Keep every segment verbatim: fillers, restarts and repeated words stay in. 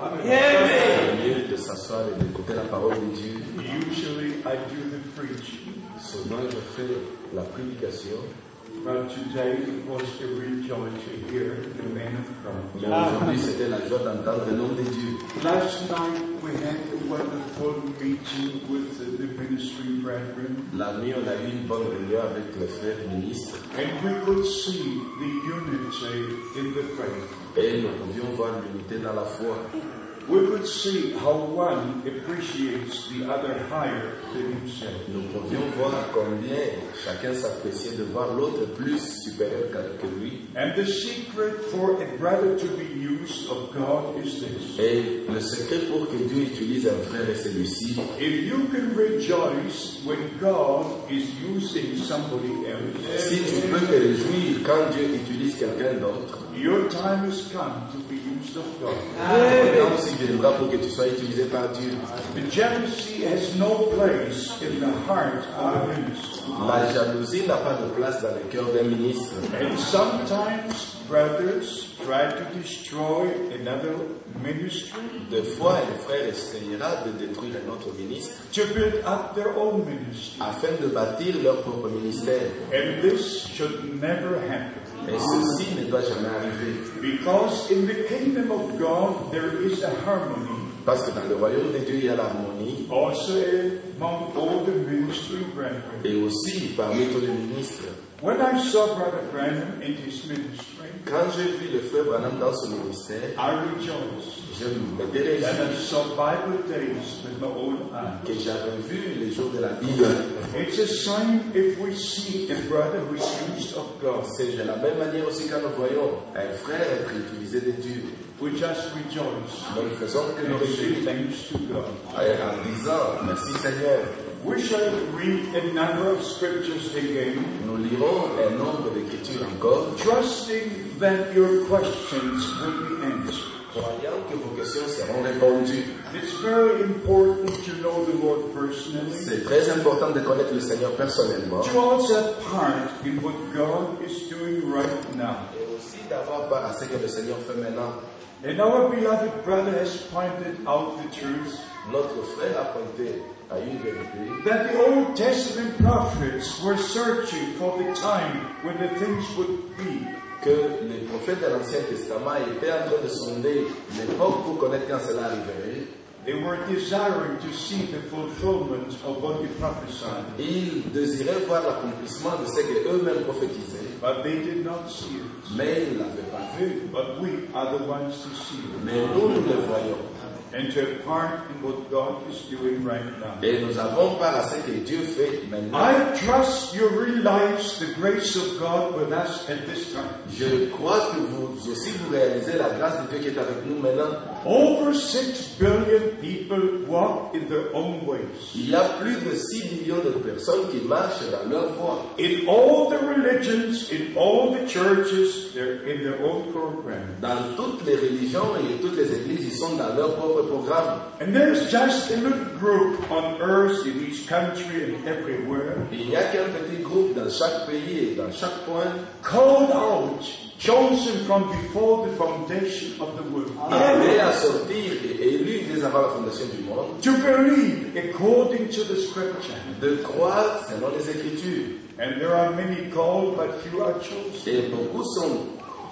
Au lieu de s'asseoir et d'écouter la parole de Dieu, usually I do the preaching. souvent je fais la prédication. But today it was a rejoice to hear the man of God. Mais aujourd'hui, c'était la joie d'entendre le nom de Dieu. Last night we had a wonderful meeting with the, the ministry brethren. La nuit, on a eu une bonne réunion avec les frères ministres. And we could see the unity in the faith. Et nous pouvions voir l'unité dans la foi. We could see how one appreciates the other higher than himself. Nous pouvions voir combien chacun s'appréciait de voir l'autre plus supérieur que lui. And the secret for a brother to be used of God is this. Et le secret pour que Dieu utilise un frère est celui-ci. If you can rejoice when God is using somebody else, Si tu peux te réjouir quand Dieu utilise quelqu'un d'autre, your time has come to be used of God. le temps aussi viendra pour que tu sois utilisé par Dieu. The jealousy has no place in the heart of a minister. La jalousie n'a pas de place dans le cœur d'un ministre. And sometimes brothers try to destroy another ministry Des fois, un frère essayera de détruire un autre ministre to build up their own ministry. afin de bâtir leur propre ministère. And this should never happen. Et ceci ne doit jamais arriver. Because in the kingdom of God there is a harmony. Parce que dans le royaume de Dieu, il y a l'harmonie. Also among all the ministry brethren. Et aussi parmi tous les ministres. When I saw Brother Branham in his ministry, Quand j'ai vu le frère Branham dans son ministère, I rejoiced je m'étais réjoui that I saw Bible days with my own eyes. que j'avais vu les jours de la Bible. It's a sign if we see a brother who is used of God. C'est de la même manière aussi quand nous voyons un frère être utilisé de Dieu. We just rejoice Nous ne faisons que nous and say réjouir thanks to God. en disant merci Seigneur. We shall read a number of scriptures again, Nous lirons un nombre d'écritures encore, trusting that your questions will be answered. croyant que vos questions seront répondues. It's very important to know the Lord personally, C'est très important de connaître le Seigneur personnellement to also have part in what God is doing right now. et aussi d'avoir part à ce que le Seigneur fait maintenant. And our beloved brother has pointed out the truth Notre frère a pointé à une vérité that the Old Testament prophets were searching for the time when the things would be. que les prophètes de l'Ancien Testament étaient en train de sonder l'époque pour connaître quand cela arriverait. They were desiring to see the fulfillment of what they prophesied, Ils désiraient voir l'accomplissement de ce qu'eux-mêmes prophétisaient, but they did not see it. mais ils ne l'avaient pas vu. But we are the ones to see it Mais nous, nous le voyons. and to have part in what God is doing right now. Et nous avons part à ce que Dieu fait maintenant. I trust you realize the grace of God with us at this time. Je crois que vous aussi vous réalisez la grâce de Dieu qui est avec nous maintenant. Over six billion people walk in their own ways. Il y a plus de six millions de personnes qui marchent dans leur voie. In all the religions, in all the churches, they're in their own program. Dans toutes les religions et toutes les églises, ils sont dans leur propre programme. And there's just a little group on earth, in each country and everywhere, Il n'y a qu'un petit groupe dans chaque pays et dans chaque point, called out, chosen from before the foundation of the world, appelé à sortir et élu dès avant la fondation du monde, to believe according to the scripture. de croire selon les Écritures. And there are many called, but few are chosen. Et beaucoup sont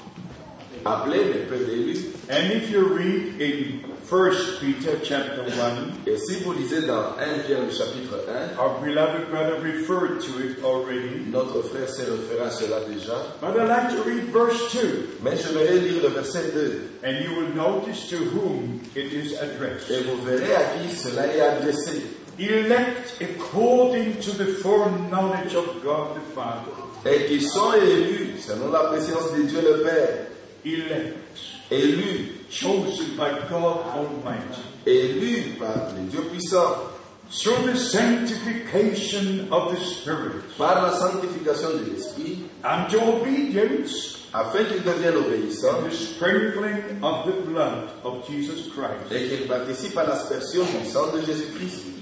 appelés mais peu d'élus. And if you read in First Peter chapter one, Et si vous lisez dans premier Pierre le chapitre un, our beloved brother referred to it already. notre frère s'est référé à cela déjà. But I'd like to read verse two, Mais je vais lire le verset deux. and you will notice to whom it is addressed. Et vous verrez à qui cela est adressé. Elect according to the foreknowledge of God the Father. Et qui sont élus selon la préscience de Dieu le Père. Elect, Élus, chosen by God Almighty, élus par le Dieu puissant. through the sanctification of the Spirit, Par la sanctification de l'Esprit, unto obedience, afin qu'ils deviennent obéissants the sprinkling of the blood of Jesus Christ. et qu'ils participent à l'aspersion du sang de Jésus-Christ.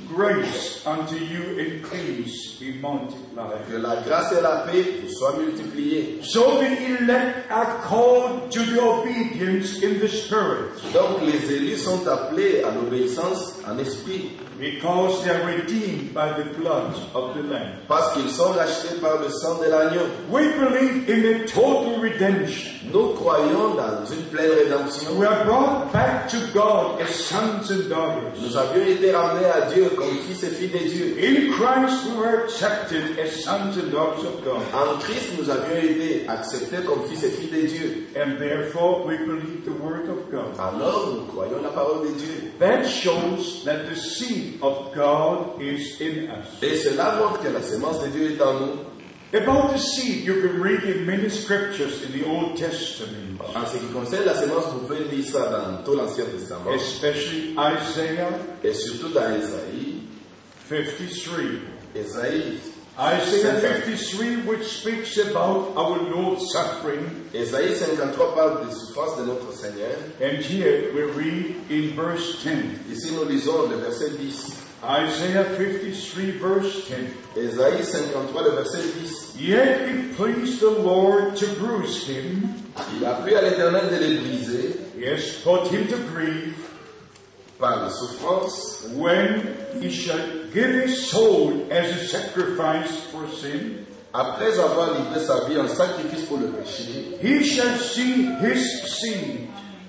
grace unto you and peace be multiplied. Que la grâce et la paix vous soient multipliées. So the elect are called to the obedience in the Spirit. Donc les élus sont appelés à l'obéissance en esprit. Because they are redeemed by the blood of the Lamb. Parce qu'ils sont rachetés par le sang de l'agneau. We believe in a total redemption. Nous croyons dans une pleine rédemption. We are brought back to God as sons and daughters. Nous avions été ramenés à Dieu comme fils et filles de Dieu. In Christ we were accepted as sons and daughters of God. En Christ, nous avions été acceptés comme fils et filles de Dieu. And therefore we believe the word of God. Alors, nous croyons la parole de Dieu. That shows that the seed of God is in us. Et cela montre que la sémence de Dieu est en nous. About the seed, you can read in many scriptures in the Old Testament. En ce qui concerne la sémence, vous pouvez lire ça dans tout l'Ancien Testament. Especially Isaiah Et surtout dans Ésaïe. fifty-three. Ésaïe. Isaiah fifty-three, which speaks about our Lord's suffering. Ésaïe cinquante-trois parle des souffrances de notre Seigneur. And here we read in verse ten. Ici, nous lisons le verset dix. Isaiah fifty-three, verse ten. Ésaïe cinquante-trois, le verset dix. Yet it pleased the Lord to bruise him. Il a plu à l'Éternel de les briser. Yes, put him to grief. Par la souffrance. When he shall give his soul as a sacrifice for sin. Après avoir livré sa vie en sacrifice pour le péché. He shall see his seed.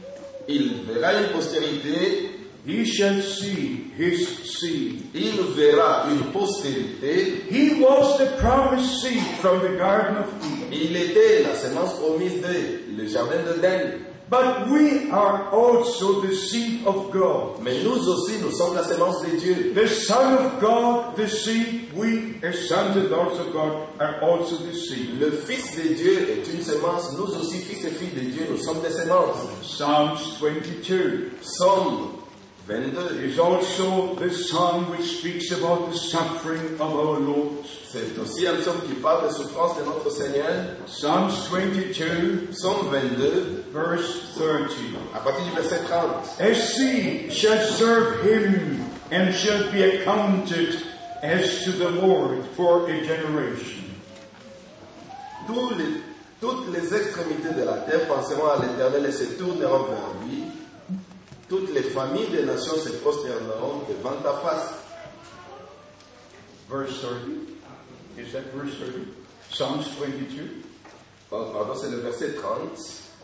Il verra une postérité. He shall see his seed. Il verra une postérité. He was the promised seed from the Garden of Eden. Il était la sémence promise de le jardin d'Éden. But we are also the seed of God. Mais nous aussi, nous sommes la sémence de Dieu. The Son of God, the seed, we as sons and daughters of God are also the seed. Le Fils de Dieu est une sémence. Nous aussi, fils et filles de Dieu, nous sommes des sémences. Psalms twenty-two. Psaume vingt-deux. Is also the psalm which speaks about the suffering of our Lord. C'est aussi un psaume qui parle des souffrances de notre Seigneur. Psalms twenty-two, Psaume vingt-deux, verse thirty. à partir du verset trente. A seed shall serve him and shall be accounted as to the Lord for a generation. Tous les, toutes les extrémités de la terre penseront à l'Éternel et se tourneront vers lui. Toutes les familles des nations se prosterneront devant ta face. Verse thirty. Is that verse thirty? Psalms twenty-two. Oh, pardon, c'est le verset trente.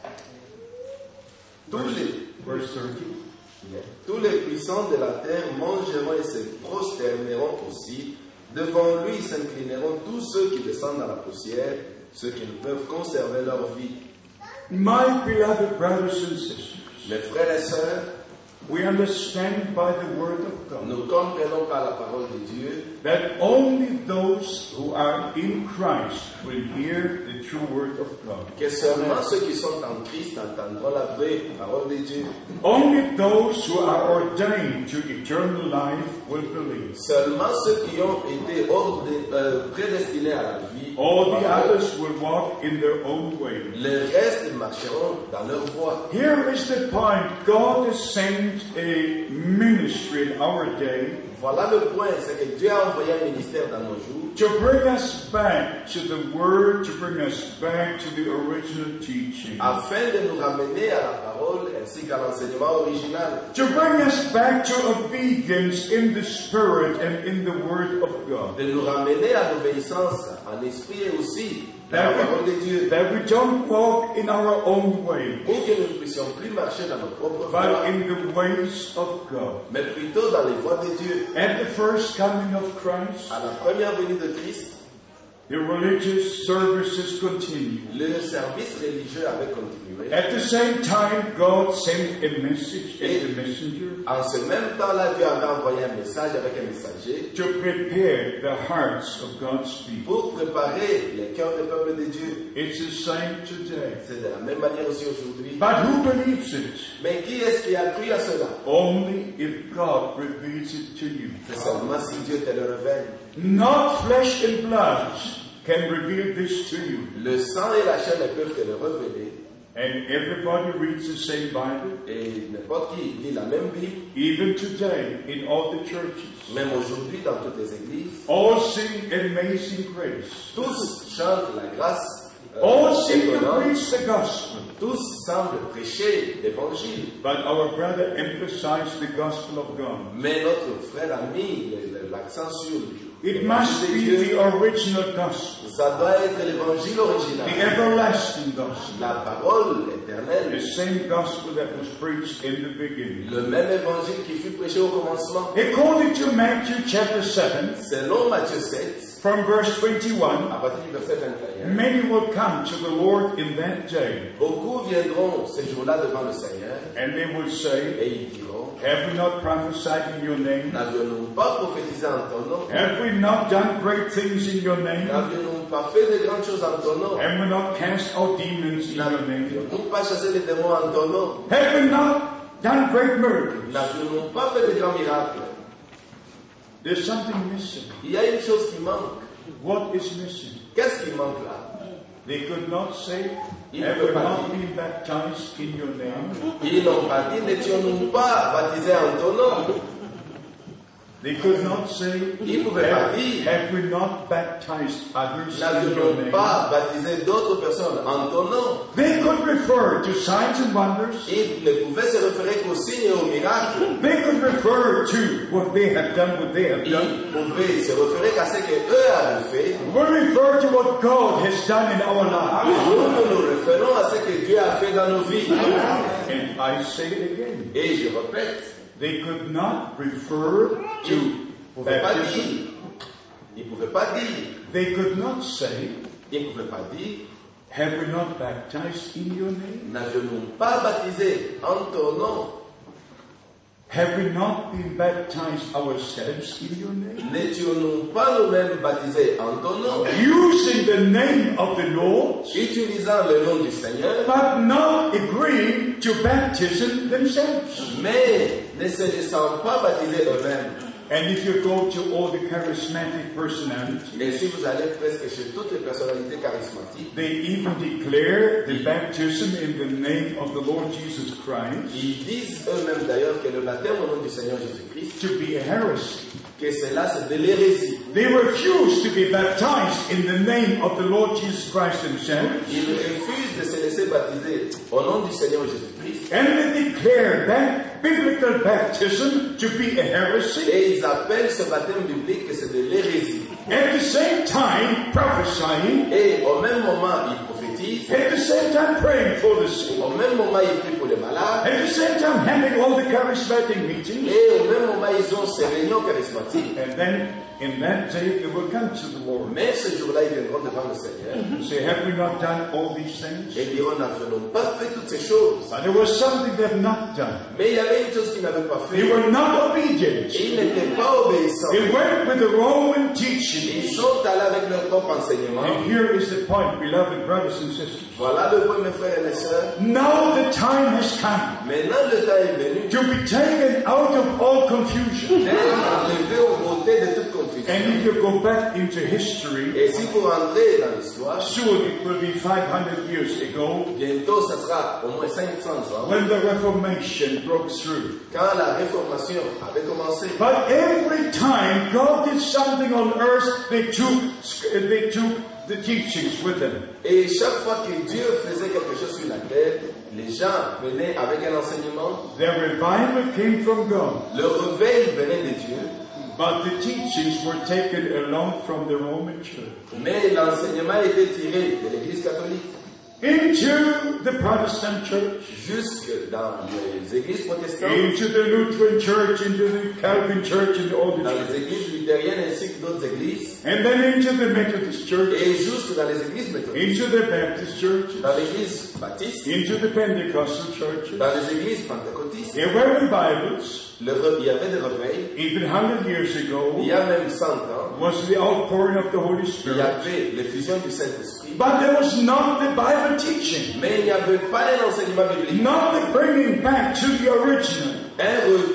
Tous les, verse thirty. Yeah. Tous les puissants de la terre mangeront et se prosterneront aussi. Devant lui s'inclineront tous ceux qui descendent dans la poussière, ceux qui ne peuvent conserver leur vie. My beloved brothers and sisters, mes frères et sœurs, we understand by the word of God nous comprenons par la parole de Dieu that only those who are in Christ will hear the true word of God. Que seulement ceux qui sont en Christ entendront la vraie parole de Dieu. Only those who are ordained to eternal life will believe. Seulement ceux qui ont été ordé, euh, prédestinés à la vie. All the others will walk in their own way. Le reste marcheront dans leur voie. Here is the point. God has sent a ministry in our day. Voilà le point, c'est que Dieu a envoyé un ministère dans nos jours. To bring us back to the word, to bring us back to the original teaching. Afin de nous ramener à la parole ainsi qu'à l'enseignement original. To bring us back to obedience in the Spirit and in the Word of God. De nous ramener à l'obéissance en esprit et aussi dans la parole de Dieu. That we don't walk in our own way. Pour que nous ne puissions plus marcher dans nos propres voies. But voies. in the ways of God. Mais plutôt dans les voies de Dieu. At the first coming of Christ, à la première venue de Christ, the religious services continued. Le service religieux avait continué. At the same time, God sent a message and a messenger. En ce même temps-là, Dieu avait envoyé un message avec un messager. To prepare the hearts of God's people. Pour préparer les cœurs des peuples de Dieu. It's the same today. C'est de la même manière aussi aujourd'hui. But who believes it? Mais qui est-ce qui a cru à cela? Only if God reveals it to you. C'est seulement si Dieu te le révèle. Not flesh and blood can reveal this to you. Le sang et la chair ne peuvent te le révéler. And everybody reads the same Bible. Et n'importe qui lit la même Bible. Even today, in all the churches. Même aujourd'hui, dans toutes les églises. All sing Amazing Grace. Tous chantent la grâce. Euh, all seem to étonnante. preach the gospel. Tous semblent prêcher l'évangile. But our brother emphasized the gospel of God. Mais notre frère a mis l'accent sur It must l'évangile de be Dieu. the original gospel. Ça doit être l'évangile original. The everlasting gospel. La parole éternelle. The same gospel that was preached in the beginning. Le même évangile qui fut prêché au commencement. According to Matthew chapter seven, Selon Matthieu sept, from verse twenty-one, à partir du verset vingt et un, many will come to the Lord in that day, beaucoup viendront ces jours-là devant le Seigneur and they will say, et ils diront, have we not prophesied in your name? n'avions-nous pas prophétisé en ton nom? Have we not done great things in your name? N'avions-nous pas fait de grandes choses en ton nom? Have we not cast out demons in your name? N'avions-nous pas chassé les démons en ton nom? Have we not done great miracles? N'avions-nous pas fait de grands miracles? There's something missing. Il y a une chose qui manque. What is missing? Qu'est-ce qui manque là? They could not say, Il have ne peut we pas not dire. been baptized in your name? Ils n'ont pas dit, n'étions-nous pas baptisés en ton nom? They could not say, Ils ne pouvaient pas have, dire, have we not baptized others in your n'avions-nous name? pas baptisé d'autres personnes en ton nom? They could refer to signs and wonders. Ils ne pouvaient se référer qu'aux signes et aux miracles. They could refer to what they have done, what they have Ils done. pouvaient se référer qu'à ce qu'eux avaient fait. We refer to what God has done in our lives. Nous, nous nous référons à ce que Dieu a fait dans nos vies. And I say it again. Et je répète, They could not refer ils ne to pouvaient pas baptism. dire, ils ne pouvaient pas dire, They could not say, ils ne pouvaient pas dire, have we not baptized in your name? n'avions-nous pas baptisé en ton nom? Have we not been baptized ourselves in your name? N'étions-nous pas nous-mêmes baptisés en ton nom? Using the name of the Lord, Utilisant le nom du Seigneur, but not agreeing to baptism themselves. mais ne se laissant pas baptiser eux-mêmes. And if you go to all the charismatic personalities, Et si vous allez presque chez toutes les personnalités charismatiques, they even declare the baptism in the name of the Lord Jesus Christ ils disent eux-mêmes d'ailleurs que le baptême au nom du Seigneur Jésus-Christ, to be a heresy. que cela c'est de l'hérésie. They refuse to be baptized in the name of the Lord Jesus Christ himself. Ils refusent de se laisser baptiser au nom du Seigneur Jésus-Christ. And they declare that biblical baptism to be a heresy. Et ils appellent ce baptême biblique que c'est de l'hérésie. At the same time prophesying. Et au même moment, ils prophétisent. At the same time praying for the sick. Au même moment, ils prient pour les malades. At the same time having all the charismatic meetings. Et au même moment, ils ont ces réunions charismatiques. And then in that day they will come to the Lord. Mais ce jour-là, ils viendront devant le Seigneur. And say, have we not done all these things? Et ils diront, n'avons pas fait toutes ces choses. But there was something they have not done. Mais il y avait une chose qu'ils n'avaient pas They fait. were not obedient. Et ils n'étaient pas obéissants. They went with the Roman teaching. Ils sont allés avec leur propre enseignement. And here is the point, beloved brothers and sisters. Voilà le point, mes frères et mes sœurs. Now the time has come Maintenant, le temps est venu to be taken out of all confusion. d'être enlevé aux beautés de toute confusion. And if you go back into history, Et si vous rentrez dans l'histoire, soon it will be five hundred years ago bientôt, ça sera au moins cinq cents ans, when the Reformation broke through. quand la réformation avait commencé. But every time God did something on earth, they took, they took the teachings with them. Et chaque fois que Dieu faisait quelque chose sur la terre, les gens venaient avec un enseignement. Their revival came from God. Le réveil venait de Dieu, But the teachings were taken along from the Roman Church mais l'enseignement était tiré de l'Église catholique into the Protestant Church, jusque dans les églises protestantes, into the Lutheran Church, into the Calvin Church, and all the dans churches, les églises luthériennes ainsi que d'autres églises, and then into the Methodist Church, et jusque dans les églises méthodistes, into the Baptist Church, dans l'église baptiste, into the Pentecostal churches. dans les églises pentecôtistes. There were revivals. Le re- il y avait des réveils. Even one hundred years Il ago y a même cent ans, was the outpouring of the Holy il y Spirit. avait l'effusion du Saint-Esprit, But there was not the Bible teaching, mais il n'y avait pas un enseignement biblique, not the bringing back to the original. un retour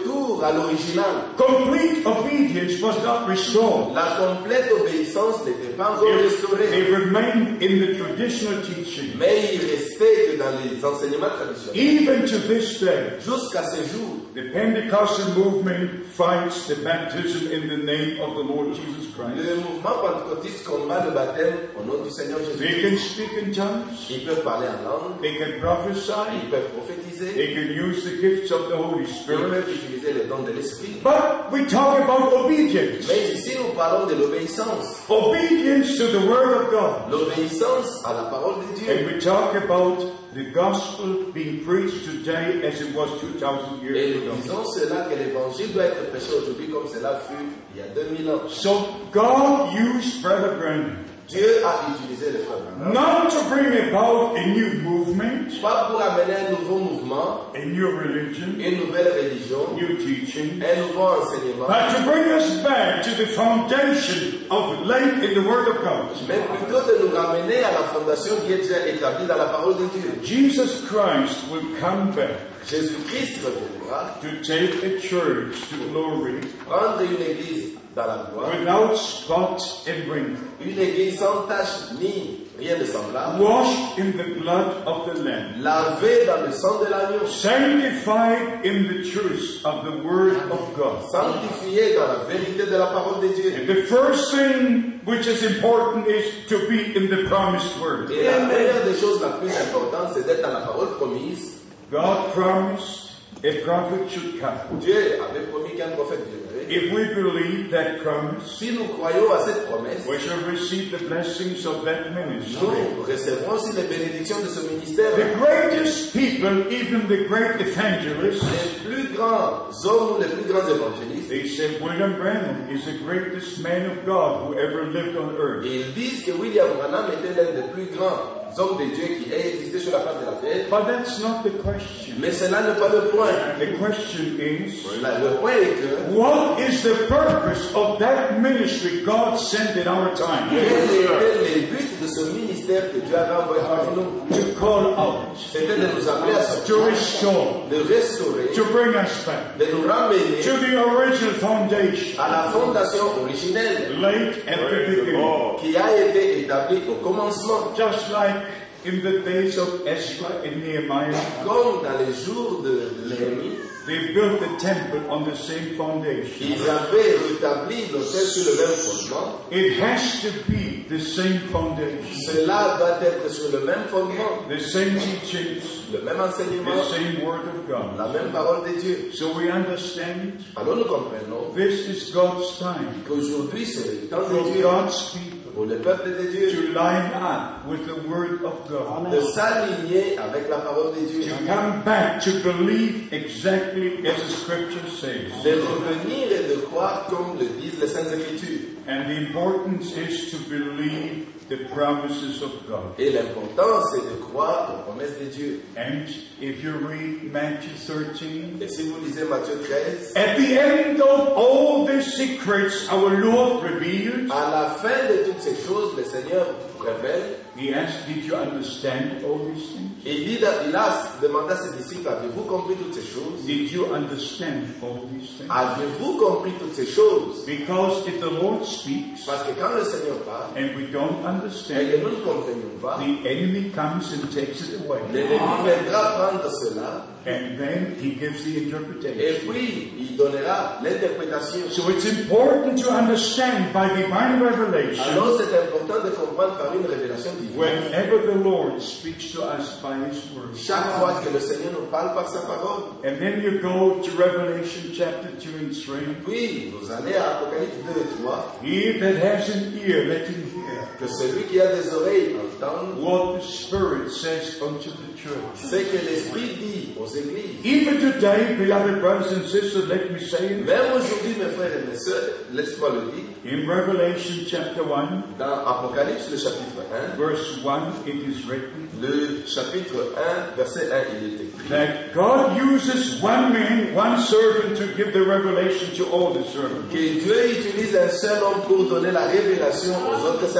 retour à l'original. Complete obedience was not restored. La complète obéissance n'était pas encore It, restaurée. it remained in the traditional teaching. Mais il restait que dans les enseignements traditionnels. Even to this day, Jusqu'à ce jour, the Pentecostal movement fights the baptism in the name of the Lord Jesus Christ. le mouvement pentecôtiste combat le baptême au nom du Seigneur They Jésus. can speak in tongues. Ils peuvent parler en langue, They can prophesy. ils peuvent prophétiser, They can use the gifts of the Holy ils Spirit. peuvent utiliser les dons de l'Esprit. But we talk about obedience. Mais ici, nous parlons de l'obéissance. Obedience to the Word of God. L'obéissance à la parole de Dieu. And we talk about the gospel being preached today as it was two thousand Et years nous ago. disons cela, que l'évangile doit être prêché aujourd'hui comme cela fut il y a deux mille ans. So God used Brother Branham Dieu a utilisé le frère Branham, not to bring about a new movement, pas pour amener un nouveau mouvement, a new religion, une nouvelle religion, new teaching, un nouveau enseignement, but to bring us back to the foundation of laid in the Word of God. mais plutôt de nous ramener à la fondation qui est déjà établie dans la parole de Dieu. Jesus Christ will come back Jésus-Christ reviendra to take a church to glory prendre une église dans la gloire, without spot and wrinkle, une église sans tache ni rien de semblable, washed in the blood of the Lamb, lavée dans le sang de l'agneau, sanctified in the truth of the Word of God. sanctifiée dans la vérité de la parole de Dieu. And the first thing which is important is to be in the promised Word. Et la première des choses la plus importante, c'est d'être dans la parole promise. God promised a prophet should come. Dieu avait promis qu'un prophète viendrait. If we believe that promise, Si nous croyons à cette promesse, we shall receive the blessings of that ministry. nous recevrons aussi les bénédictions de ce ministère. The greatest people, even the great evangelists, Les plus grands hommes ou les plus grands évangélistes, they said William Branham is the greatest man of God who ever lived on earth. ils disent que William Branham était l'un des plus grands hommes de Dieu qui ait existé sur la face de la terre. But that's not the question. Mais cela n'est pas le point. The question is, La- Le point est que what is the purpose of that ministry God sent in our time? quel était le but de ce ministère que Dieu avait envoyé parmi nous? To call out, C'était de nous appeler à to sortir, restore, de restaurer, to bring us back de nous ramener to the original foundation, à la fondation originelle late at the beginning. qui a été établie au commencement. Just like in the days of Ezra and Nehemiah, Comme dans les jours de Néhémie, they built the temple on the same foundation. ils avaient rétabli l'autel sur le même fondement. It has to be the same foundation, Cela doit être sur le même fondement, the same teachings, le même the enseignement, same word of God. la même parole de Dieu. So we understand Alors nous comprenons this is God's time qu'aujourd'hui c'est le temps for de Dieu God's people pour le peuple de Dieu to line up with the word of God, de s'aligner avec la parole de Dieu, to come back to believe exactly as the scripture says. de revenir et de croire comme le disent les Saintes Écritures. And the importance is to believe the promises of God. Et l'important c'est de croire aux promesses de Dieu. And if you read Matthew thirteen, Et si vous lisez Matthieu treize, at the end of all the secrets our Lord revealed, à la fin de toutes ces choses, le Seigneur révèle. He asked, did you understand all these things? Il dit, il a demandé à ses disciples, avez-vous compris toutes ces choses? Did you understand all these things? Avez-vous compris toutes ces choses? Because if the Lord speaks Parce que quand le Seigneur parle, and we don't et que understand, nous ne comprenions pas, the enemy comes and takes it away. l'ennemi viendra prendre cela, And then he gives the et interpretation. puis il donnera l'interprétation. So it's important to understand by divine revelation, Alors c'est important de comprendre par une révélation divine. whenever the Lord speaks to us by His word. Chaque fois que le Seigneur nous parle par sa parole, And then you go to Revelation chapter two and three. puis vous allez à Apocalypse deux et trois, He that has an ear, let him hear que celui qui a des oreilles entende what the Spirit says unto the church. ce que l'Esprit dit aux églises. Even today, beloved brothers and sisters, let me say it. Même aujourd'hui, mes frères et mes sœurs, laisse-moi le dire, In Revelation chapter one, dans Apocalypse, le chapitre un, verse one, it is written le chapitre un, verset un, il est écrit that God uses one man, one servant to give the revelation to all the servants. que Dieu utilise un seul homme pour donner la révélation aux autres serviteurs.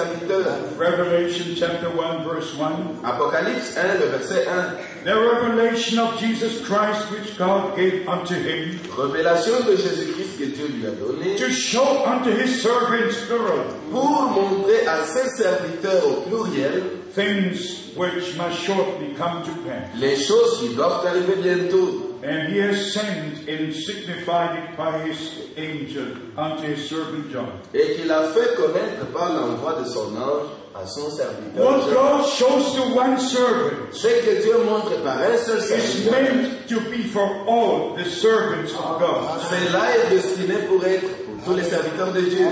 serviteurs. Revelation chapter one verse one. Apocalypse un, le verset un. The revelation of Jesus Christ which God gave unto him Révélation de Jésus-Christ que Dieu lui a donné to show unto his servants plural pour montrer à ses serviteurs au pluriel things which must shortly come to pass. les choses qui doivent arriver bientôt. And he has sent and signified it by his angel unto his servant John. Et qu'il a fait connaître par l'envoi de son ange à son serviteur. What God shows to one servant Ce que Dieu montre par un seul is serviteur, meant to be for all the servants of God. cela est destiné pour être pour tous les serviteurs de Dieu.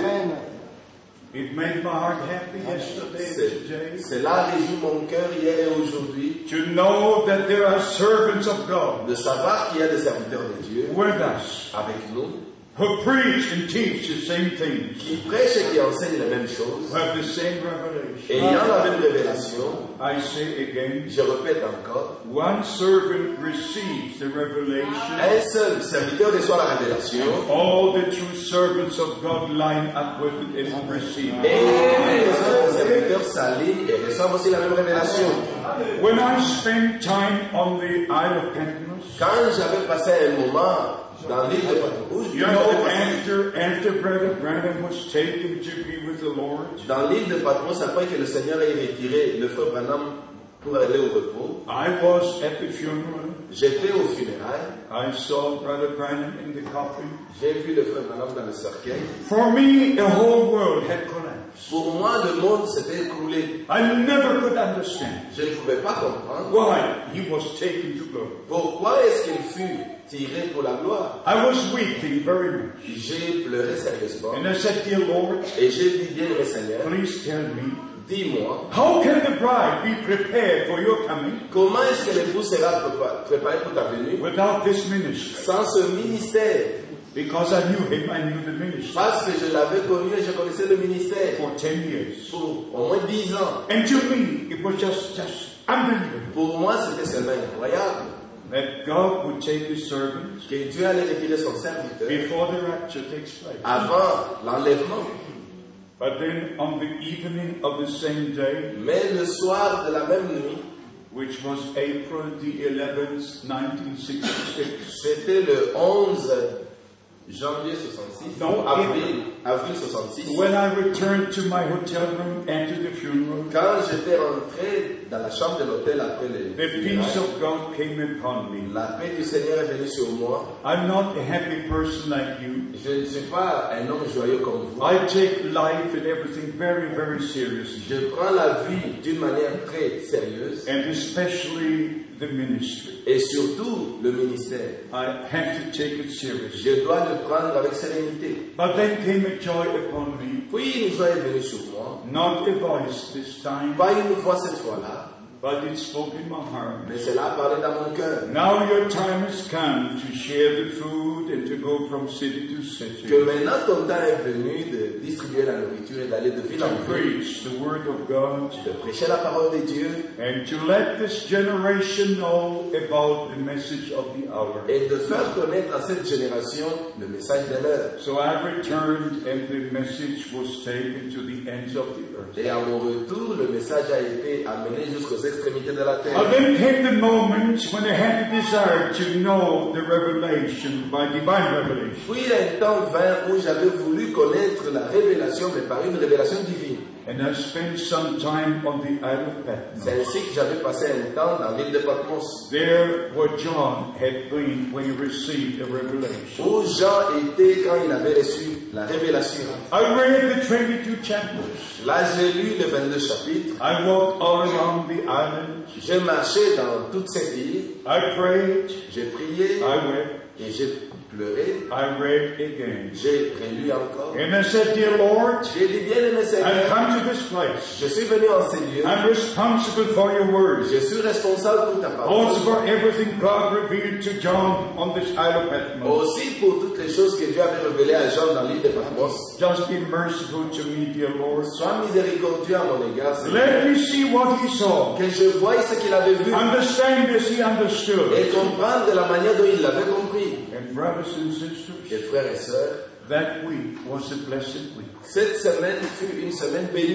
It made my heart happy yesterday and today C'est- Cela réjouit mon cœur hier et aujourd'hui to know that there are servants of God de savoir qu'il y a des serviteurs de Dieu with us avec nous who preach and teach the same things, qui prêchent et qui enseignent les mêmes choses, who have the same revelation. ayant la même révélation. I say again, Je répète encore, one servant receives the revelation. un seul serviteur reçoit la révélation All the true servants of God line up with it and receive et it. les autres serviteurs s'alignent et reçoivent aussi la même révélation. When I spent time on the Isle of Patmos, Quand j'avais passé un moment dans l'île de Patmos, you know, after, after Brother Branham was taken to be with the Lord, dans l'île de Patmos, après que le Seigneur ait retiré le frère Branham pour aller au repos, I was at the funeral. j'étais au funérailles, I saw Brother Branham in the coffin. j'ai vu le frère Branham dans le cercueil. For me, the whole world had collapsed. Pour moi, le monde s'était écroulé. I never could understand Je ne pouvais pas comprendre why he was taken to glory. pourquoi est-ce qu'il fut tiré pour la gloire. I was weeping very much. J'ai pleuré sérieusement And I said, Dear Lord, et j'ai dit, bien le Seigneur, please tell me, dis-moi, how can the bride be prepared for your coming comment est-ce que l'époux sera prépa- préparé pour ta venue without this ministry? sans ce ministère? Because I knew him, I knew the ministry Parce que je l'avais connu et je connaissais le ministère for ten years. pour au moins dix ans. And to me, it was just, just unbelievable Pour moi, c'était seulement incroyable that God would take his servants que Dieu allait retirer son serviteur before the rapture takes place. avant l'enlèvement. But then on the evening of the same day, Mais le soir de la même nuit, which was April the eleventh, nineteen sixty-six, c'était le onze janvier soixante-six, Non, avril, avril soixante-six, when I returned to my hotel room after the funeral, quand j'étais rentré dans la chambre de l'hôtel après les the peace funérailles, of God came upon me. la paix du Seigneur est venue sur moi. I'm not a happy person like you. Je ne suis pas un homme joyeux comme vous. I take life and everything very, very seriously, Je prends la vie d'une manière très sérieuse and especially the ministry. et surtout le ministère. I have to take it seriously. Je dois le prendre avec sérénité. But then came a joy upon me, Puis une joie est venue sur moi, not a voice this time, pas une voix cette fois-là, but it spoke in my heart. mais cela a parlé dans mon cœur. Now your time has come to share the food and to go from city to Que city, maintenant ton temps est venu de distribuer la nourriture et d'aller de ville en to ville, preach the word of God, de prêcher la parole de Dieu and to let this generation know about the message of the hour. et de faire connaître à cette génération le message de l'heure. So I returned and the message was taken to the ends of the earth. Et à mon retour, le message a été amené jusqu'aux extrémités de la terre. And then came the moment when I had the desire to know the revelation by divine revelation. Puis un temps vint où j'avais voulu connaître la révélation, mais par une révélation divine. And I spent some time on the Isle of Patmos. C'est ainsi que j'avais passé un temps dans l'île de Patmos, There where John had been when he received a revelation. où Jean était quand il avait reçu la révélation. I read the twenty-two chapters. Là, j'ai lu les vingt-deux chapitres. I walked all around the island. J'ai marché dans toute cette île. I prayed. J'ai prié I wept. et j'ai pleuré. I read again. J'ai relu encore. And I said, Dear Lord, J'ai dit, bien aimé I've Seigneur, come to this place. je suis venu en ces lieux. I'm responsible for your words. Je suis responsable pour ta parole. Also for everything God revealed to John on this Isle of Patmos. Aussi pour toutes les choses que Dieu avait révélées à Jean dans l'île de Patmos. Just be merciful to me, dear Lord. Sois miséricordieux à mon égard, Seigneur. Let me see what he saw. Que je voie ce qu'il avait vu Understand as he understood. et comprendre de la manière dont il l'avait compris. And brothers and sisters, Et frères et sœurs, that week was a blessed week. cette semaine fut une semaine bénie.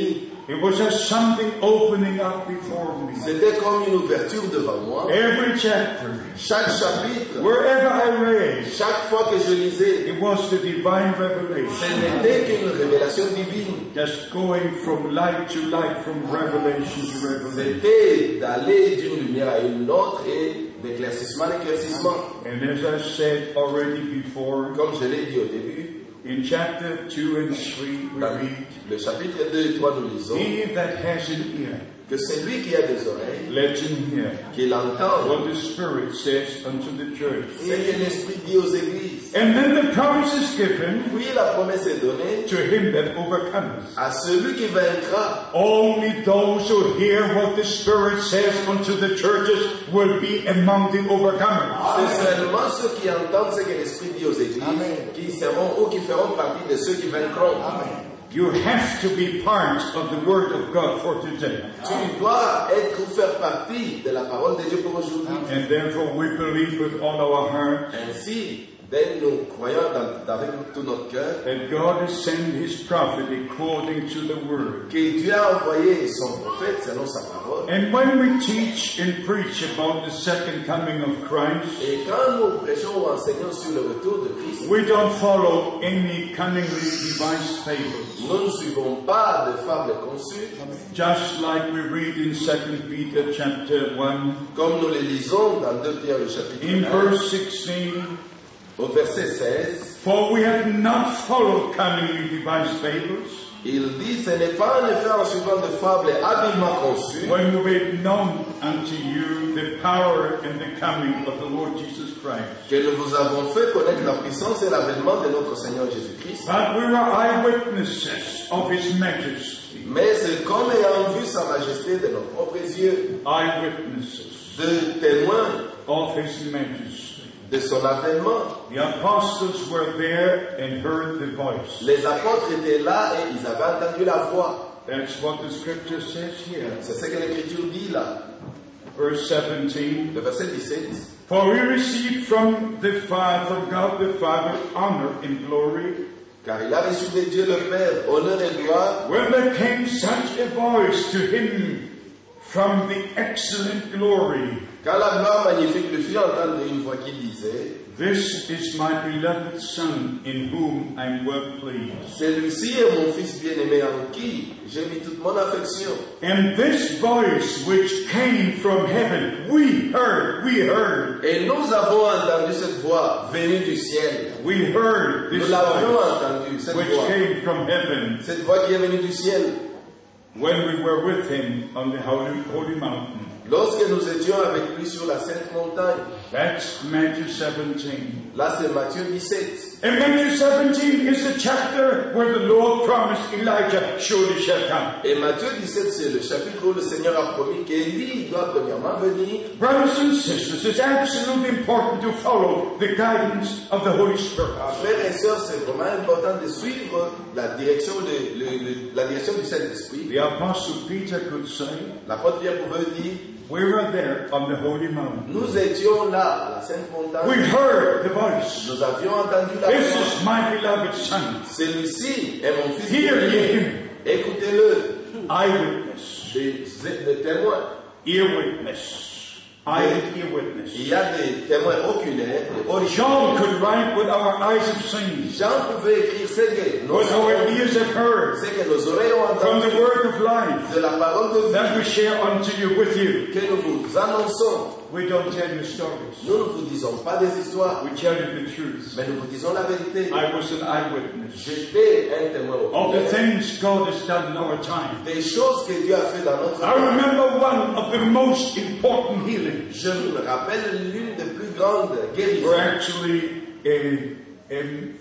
It was as something opening up before me. C'était comme une ouverture devant moi. Every chapter, Chaque chapitre, wherever I read, chaque fois que je lisais, it was the divine ce revelation. n'était qu'une révélation divine. Just going from light to light, from revelation to revelation. C'était d'aller d'une lumière à une autre et d'éclaircissement à éclaircissement. And as I said already before, Comme je l'ai dit au début, in chapter two and three we dans read, le chapitre deux et trois, nous lisons he that has an ear, que celui qui a des oreilles, let him hear qu'il entende what the Spirit says unto the church. ce que l'Esprit dit aux églises. And then the promise is given Puis la promesse est donnée to him that overcomes. à celui qui vaincra. Only those who hear what the Spirit says unto the churches will be among the overcomers. C'est seulement ceux qui entendent ce que l'Esprit dit aux églises qui seront ou qui feront partie de ceux qui vaincront. You have to be part of the Word of God for today. Tu dois être ou faire partie de la parole de Dieu pour aujourd'hui. And therefore we believe with all our heart Ainsi, dès nous croyons dans- avec tout notre cœur that God has sent His prophet according to the Word. que Dieu a envoyé son prophète selon sa parole. And when we teach and preach about the second coming of Christ, Et quand nous prêchons ou enseignons sur le retour de Christ, we don't follow any cunningly devised fables. nous ne suivons pas de fables conçues, Just like we read in Second Peter chapter one, comme nous les lisons dans deux Pierre le chapitre in un, verse sixteen, au verset seize. for we have not followed cunningly devised fables, Il dit, ce n'est pas en effet en suivant de fables habilement conçues when we made known unto you the power and the coming of the Lord Jesus Christ. que nous vous avons fait connaître la puissance et l'avènement de notre Seigneur Jésus-Christ. But we were eyewitnesses of His majesty. Mais c'est comme ayant vu sa majesté de nos propres yeux, Eyewitnesses de témoins of His majesty. de son avènement. The apostles were there and heard the voice. Les apôtres étaient là et ils avaient entendu la voix. That's what the scripture says here. C'est ce que l'Écriture dit là. Verse seventeen. Le verset dix-sept. For we received from the Father, from God the Father, honor and glory. Car il a reçu de Dieu le Père honneur et gloire. When there came such a voice to him from the excellent glory, Quand la gloire magnifique lui fit entendre une voix qui disait, this is my beloved Son, in whom I am well pleased. celui-ci est mon fils bien-aimé en qui j'ai mis toute mon affection. And this voice which came from heaven, we heard, we heard, Et nous avons entendu cette voix venue du ciel. we heard this Nous l'avions voice entendu, cette which voix. came from heaven Cette voix qui est venue du ciel. when we were with him on the holy, holy mountain. Lorsque nous étions avec lui sur la sainte montagne. That's Matthew seventeen. Là, c'est Matthieu dix-sept. And Matthew seventeen is the chapter where the Lord promised Elijah surely shall come. Et Matthieu dix-sept, c'est le chapitre où le Seigneur a promis qu'Élie doit premièrement venir. Brothers and sisters, it's absolutely important to follow the guidance of the Holy Spirit. Frères et sœurs, c'est vraiment important de suivre la direction, de, le- le- la direction du Saint-Esprit. The Apostle Peter could say, L'apôtre Pierre pouvait dire, we were there on the holy mountain. nous étions là, à la sainte We montagne. heard the voice. Nous avions entendu la This voix. is my beloved Son. Celui-ci est mon fils Hear ye bien-aimé. him. Écoutez-le. Eyewitness. Des, des témoins. Ear witness. Eye and ear witness. Il y a des témoins oculaires, des John originaux. could write what our eyes have seen, Jean pouvait écrire ce que nos, what our ears have heard, ce que nos oreilles ont from entendu the word of life de la parole de that vie we share unto you with you. que nous vous annonçons. We don't tell you stories. Nous ne vous disons pas des histoires, We tell you the truth. mais nous vous disons la vérité. I was an eyewitness J'étais un témoin of the oculaire things God has done in our time. des choses que Dieu a fait dans notre I temps. remember one of the most important healings, Je me rappelle l'une des plus grandes guérisons where actually a, a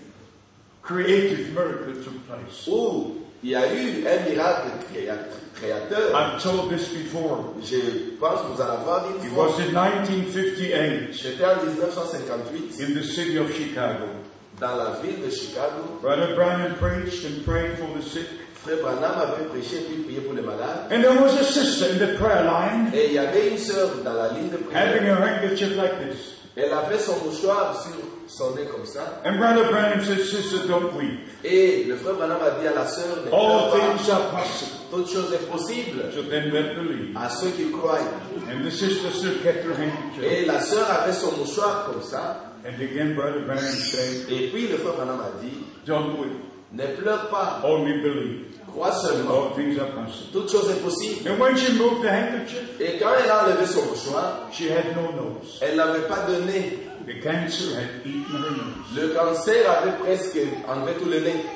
creative miracle took place. où il y a eu un miracle créa- créateur. I've told this before. Je pense que vous en avoir dit It une fois. was in nineteen fifty-eight C'était en dix-neuf cent cinquante-huit in the city of Chicago. dans la ville de Chicago. Brother Branham preached and prayed for the sick. Frère Branham avait prêché puis prié pour les malades. And there was a sister in the prayer line Et il y avait une sœur dans la ligne de having prière. a handkerchief like this. Elle avait son mouchoir sur son nez comme ça. And Brother Branham said, sister, don't weep. Et le frère Branham a dit à la sœur, ne All pleure pas. things are possible. Toute chose est possible to them that believe. à ceux qui croient. And the sister still kept her handkerchief. Et la sœur avait son mouchoir comme ça. And again, Brother Branham said, Et puis le frère Branham a dit, don't weep, ne pleure pas, only believe. crois seulement. All things are possible. Toute chose est possible. And when she moved the handkerchief, Et quand elle a enlevé son mouchoir, she had no nose. elle n'avait pas de nez. The cancer had eaten her nose. Le cancer avait presque enlevé tout le nez.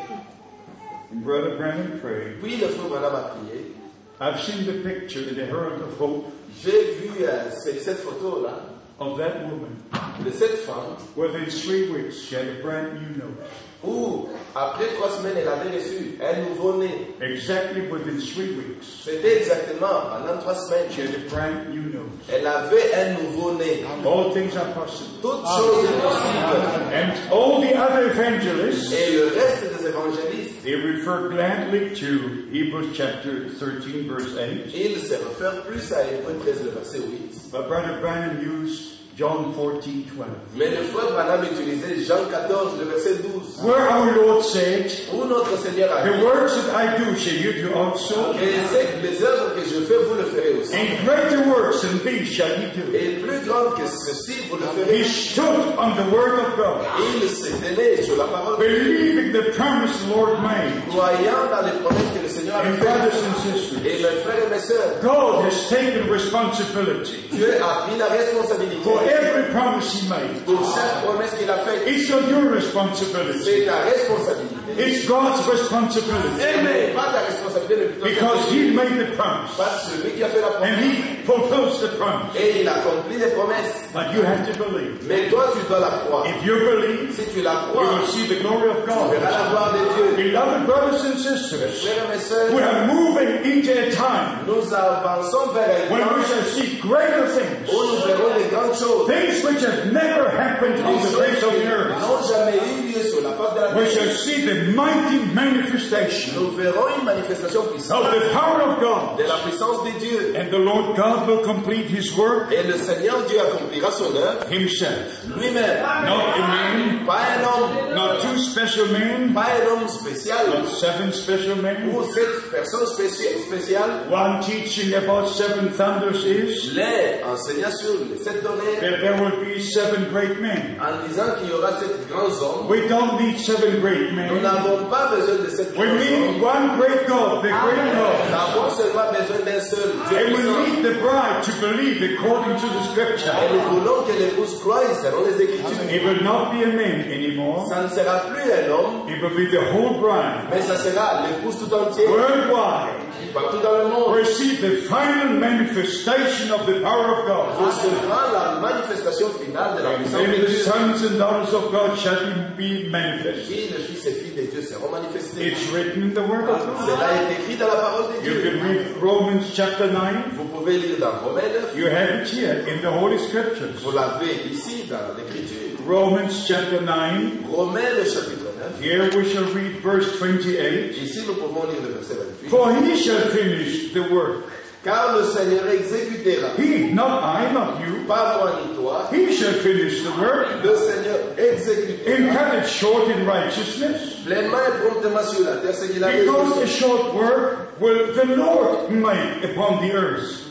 And Brother Branham prayed. Puis le frère Branham a prié. I've seen the picture in the Herald of Hope J'ai vu euh, cette, cette photo-là of that woman. de cette femme Within three weeks, she had a brand new nose. où, après trois semaines, elle avait reçu un nouveau-né. Exactly within three weeks, C'était exactement pendant trois semaines. she had a brand new nose. Elle avait un nouveau-né. All things are possible. Toute chose est possible. And all the other evangelists, Et le reste des évangélistes, they refer gladly to Hebrews chapter thirteen, verse eight. ils se réfèrent plus à Hébreux treize, le verset huit. But Brother Branham used John fourteen, twelve. Mais le frère Branham utilisait Jean quatorze, le verset douze, Where our Lord said, où notre Seigneur a the dit works that I do shall you do also, que c'est les œuvres que je fais, vous le ferez aussi. and greater works than these shall ye do. Et plus grande que ceci, vous le He ferez. stood on the word of God, Il s'est donné sur la parole de Dieu, believing the promise the Lord made. croyant dans les promesses que le Seigneur a And faites. brothers and sisters, Et mes frères et mes sœurs, God has taken responsibility Dieu a pris la responsabilité for every promise He made. pour chaque promesse qu'il a faite. It's not your responsibility. C'est ta responsabilité. It's God's responsibility. Mais pas ta responsabilité, mais plutôt Because celle de He Dieu. made the promise. Pas celui qui a fait la And promesse. He fulfills the promise. Et il accomplit les promesses. But you have to believe. Mais toi, tu dois la croire. If you believe, Si tu la you crois, will see the glory of tu God. verras la gloire de Dieu. Beloved brothers and sisters, Frères et mes sœurs, we are moving into a time nous avançons vers un when we temps shall see greater things. où nous verrons des grandes choses. Things which have never happened on Des the choses face of qui the earth. n'ont jamais eu lieu sur la face de la We shall terre. see the mighty manifestation Nous verrons une manifestation of puissante the power of God. de la puissance de Dieu. And the Lord God will complete His work Et le Seigneur Dieu accomplira son œuvre Himself. lui-même. Not a man, Pas un homme, not two special men, pas un homme spécial not seven special men. ou cette personne spéci- spéciale. One teaching about seven thunders is Les enseignant sur les sept tonnerres that there will be seven great men. en disant qu'il y aura sept grands hommes. We don't need seven great Nous men. n'avons pas besoin de sept We grands hommes. need one great God, the great Nous God. avons seulement besoin d'un seul Dieu And we puissant. need the bride to believe according to the Et scripture. nous voulons que l'épouse croie selon les Écritures. It will not be a man anymore. Ça ne sera plus un homme, It will be the whole bride. mais ça sera l'épouse tout entière, Worldwide. partout dans le monde. Receive the final manifestation of the power of God. Recevra la manifestation finale de la And puissance then de the Dieu. sons and daughters of God shall be manifested. Et le Fils et filles de Dieu seront manifestés. It's written in the Word of God. Cela est écrit dans la parole de You Dieu. can read Romans chapter nine. Vous pouvez lire dans Romains neuf. You have it here in the Holy Scriptures. Vous l'avez ici dans l'Écriture. Romans chapter nine. Romains le chapitre neuf. Here we shall read verse twenty-eight. Ici nous pouvons lire le verset vingt-huit. For he shall finish the work. Car le Seigneur exécutera, He, not I, not you. pas moi ni toi, He shall finish the work. le Seigneur And exécutera cut it short in righteousness. pleinement et promptement sur la terre ce qu'il a Because the résolu. short work will the Lord make upon the earth.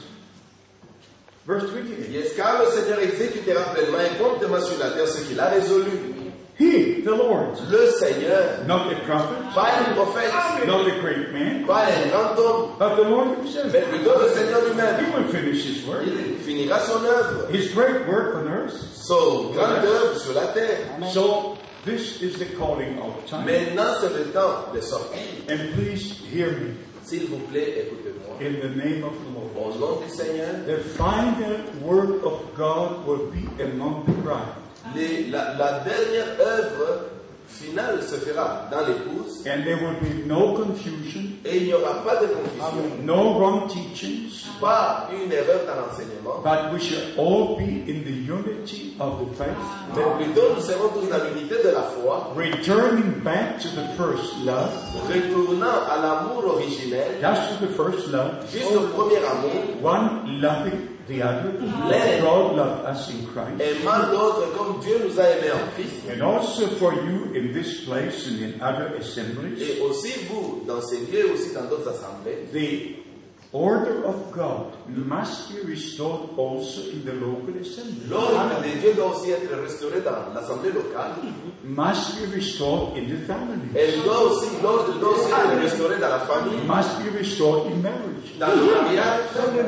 Verse twenty-eight. Yes, car le Seigneur exécutera pleinement et promptement sur la terre ce qu'il a résolu. He, the Lord, Le Seigneur, not a prophet, pas un prophète, not a great man, pas un grand homme, but the Lord himself. mais plutôt le Seigneur He lui-même. will finish his work. Il finira son œuvre, His great work on earth. son grande œuvre sur la terre. So this is the calling of time. Maintenant, c'est le temps de sortir. And please hear me S'il vous plaît, écoutez-moi. in the name of the Lord. Au nom du Seigneur, The final work of God will be among the bride. les- la, la dernière œuvre finale se fera dans l'épouse And there will be no confusion, et il n'y aura pas de confusion, no wrong teachings, pas une erreur dans l'enseignement, but we shall all be in the unity of the faith, mais plutôt nous serons tous dans l'unité de la foi, returning back to the first love, retournant à l'amour originel, just to the first love, juste au premier amour, one loving the other, as God loved us in Christ. aimant l'autre comme Dieu nous a aimés en Christ. And also for you in this place and in other assemblies, Et aussi vous, dans ces lieux, aussi dans d'autres assemblées, the order of God must be restored also in the local assembly. l'ordre de Dieu doit aussi être restauré dans l'assemblée locale. Must be restored in the family. Elle doit aussi, l'ordre doit aussi être restauré dans la famille, Must be restored in marriage. dans le mariage.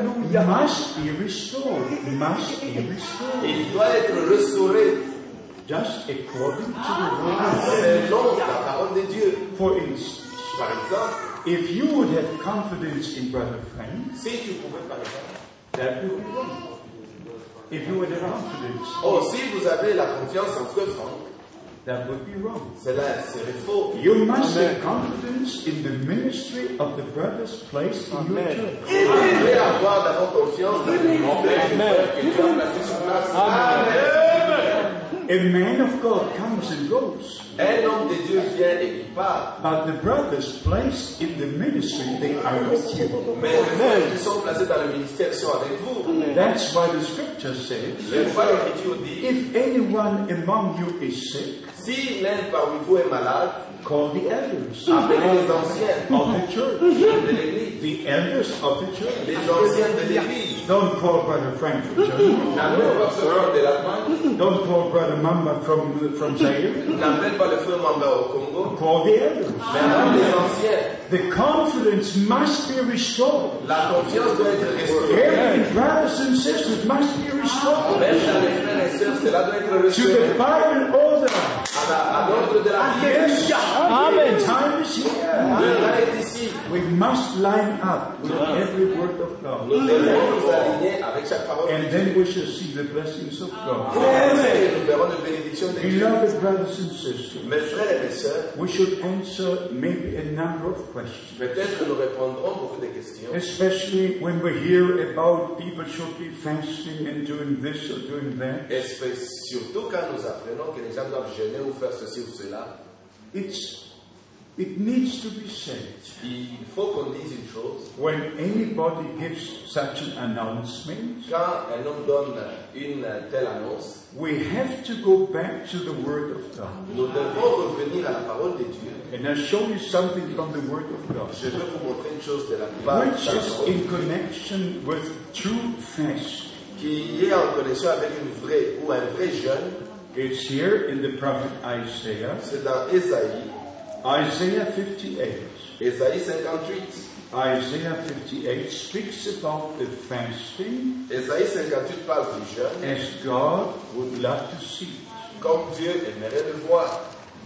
Must be restored. Must be restored. Il doit être restauré Just according to the word of God. selon la parole de Dieu. For instance, Par exemple, if you would have confidence in Brother Frank, si tu pouvais par exemple, that would be wrong. If you would have confidence, oh, si vous avez la confiance en Frère Franck, that would be wrong. cela serait faux. You must have confidence in the ministry of the brothers placed in your church. Vous devez avoir d'abord confiance dans le ministère du frère que Dieu a placé sur place. Amen. A man of God comes and goes, Un homme de Dieu vient et il part. but the brothers placed in the ministry, they are with you. Mais les frères qui sont placés dans le ministère sont avec vous. That's why the scripture says, C'est pourquoi l'Écriture dit, if anyone among you is sick, si l'un parmi vous est malade, call the elders appelez les anciens of the church. de l'Église. The elders of the church. Les anciens de l'Église. Don't call Brother Frank from Germany. N'appelez pas ce frère de l'Allemagne. Don't call Brother Mamba from, from Zaire. N'appelez pas le frère Mamba au Congo. Call the elders. Mais appelez les anciens. The confidence must be restored. La confiance doit être restaurée. Every brothers and sisters must be restored Même dans les frères et sœurs, cela doit être to restauré. the Bible order. À la- à l'ordre de la Bible. Yes, Amen. Time is Le here. temps est ici. We must line up with every word of God. Nous devons nous aligner avec chaque parole. And then we shall see the blessings of God. Et nous verrons les bénédictions de Dieu. Beloved brothers and sisters, Mes frères et mes sœurs, we should answer maybe a number of questions. peut-être que nous répondrons beaucoup de questions. Especially when we hear about people should be fasting and doing this or doing that. Et surtout quand nous apprenons que les gens doivent jeûner ou faire ceci ou cela, It's, it needs to be said. il faut qu'on dise une chose. When anybody gives such an announcement, Quand un homme donne une telle annonce, we have to go back to the Word of God. nous devons revenir à la parole de Dieu. And I'll show you something from the Word of God, Je vais vous montrer une chose de la part which de la is parole in connection with true fast. qui est en connexion avec une vraie ou un vrai jeûne. It's here in the prophet Isaiah, C'est dans Ésaïe, Isaiah fifty-eight. Ésaïe cinquante-huit. Isaiah fifty-eight speaks about the fasting Ésaïe cinquante-huit parle du jeûne as God would love to see it. comme Dieu aimerait le voir.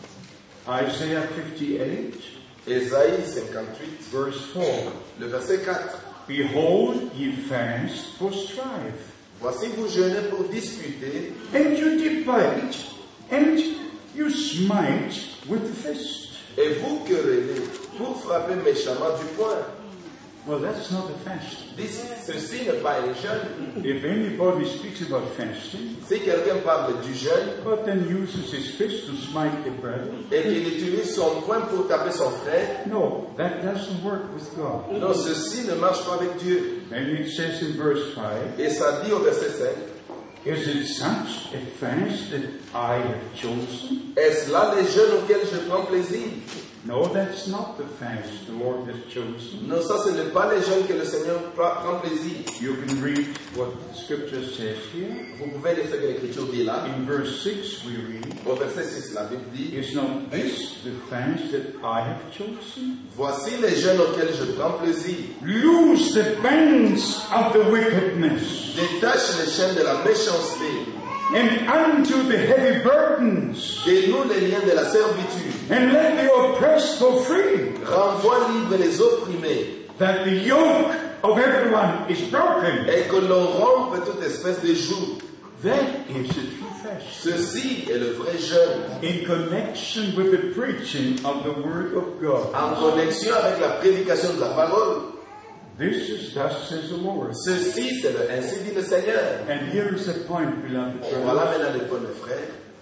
Isaiah fifty-eight, Ésaïe cinquante-huit, verse four. le verset quatre. Behold, ye fast for strife, Voici vous jeûnez pour disputer, and you debate, and you smite with the fist. et vous querellez pour frapper méchamment du poing. Well, that's not a fast. Dis- Ceci n'est pas un jeûne. If anybody speaks about fasting, Si quelqu'un parle du jeûne but then uses his fist to smite a brother, et qu'il utilise son poing pour taper son frère, no, that doesn't work with God. non, ceci ne marche pas avec Dieu. And it says in verse five, Et ça dit au verset cinq, is it such a fast that I have chosen? est-ce là les jeûnes auxquels je prends plaisir? No, that's not the fast the Lord has chosen. Non, ça ce n'est pas les jeûnes que le Seigneur pra- prend plaisir. You can read what the scripture says here. Vous pouvez lire ce que l'Écriture dit là. In verse six we read, Au verset six, la Bible dit, is not this the fast that I have chosen? voici les jeûnes auxquels je prends plaisir. Loose the bands of the wickedness, Détache les chaînes de la méchanceté. and unto the heavy burdens, Dénoue les liens de la servitude. and let the oppressed go free, Renvoie libre les opprimés. that the yoke of everyone is broken. Et que l'on rompe toute espèce de joug. That is a true fast. Ceci est le vrai jeûne. In connection with the preaching of the Word of God. En connexion avec la prédication de la parole. This is thus says the Lord. Ceci, c'est le ainsi dit le Seigneur. And here is a point, beloved Et voilà brothers. maintenant les points, mes frères.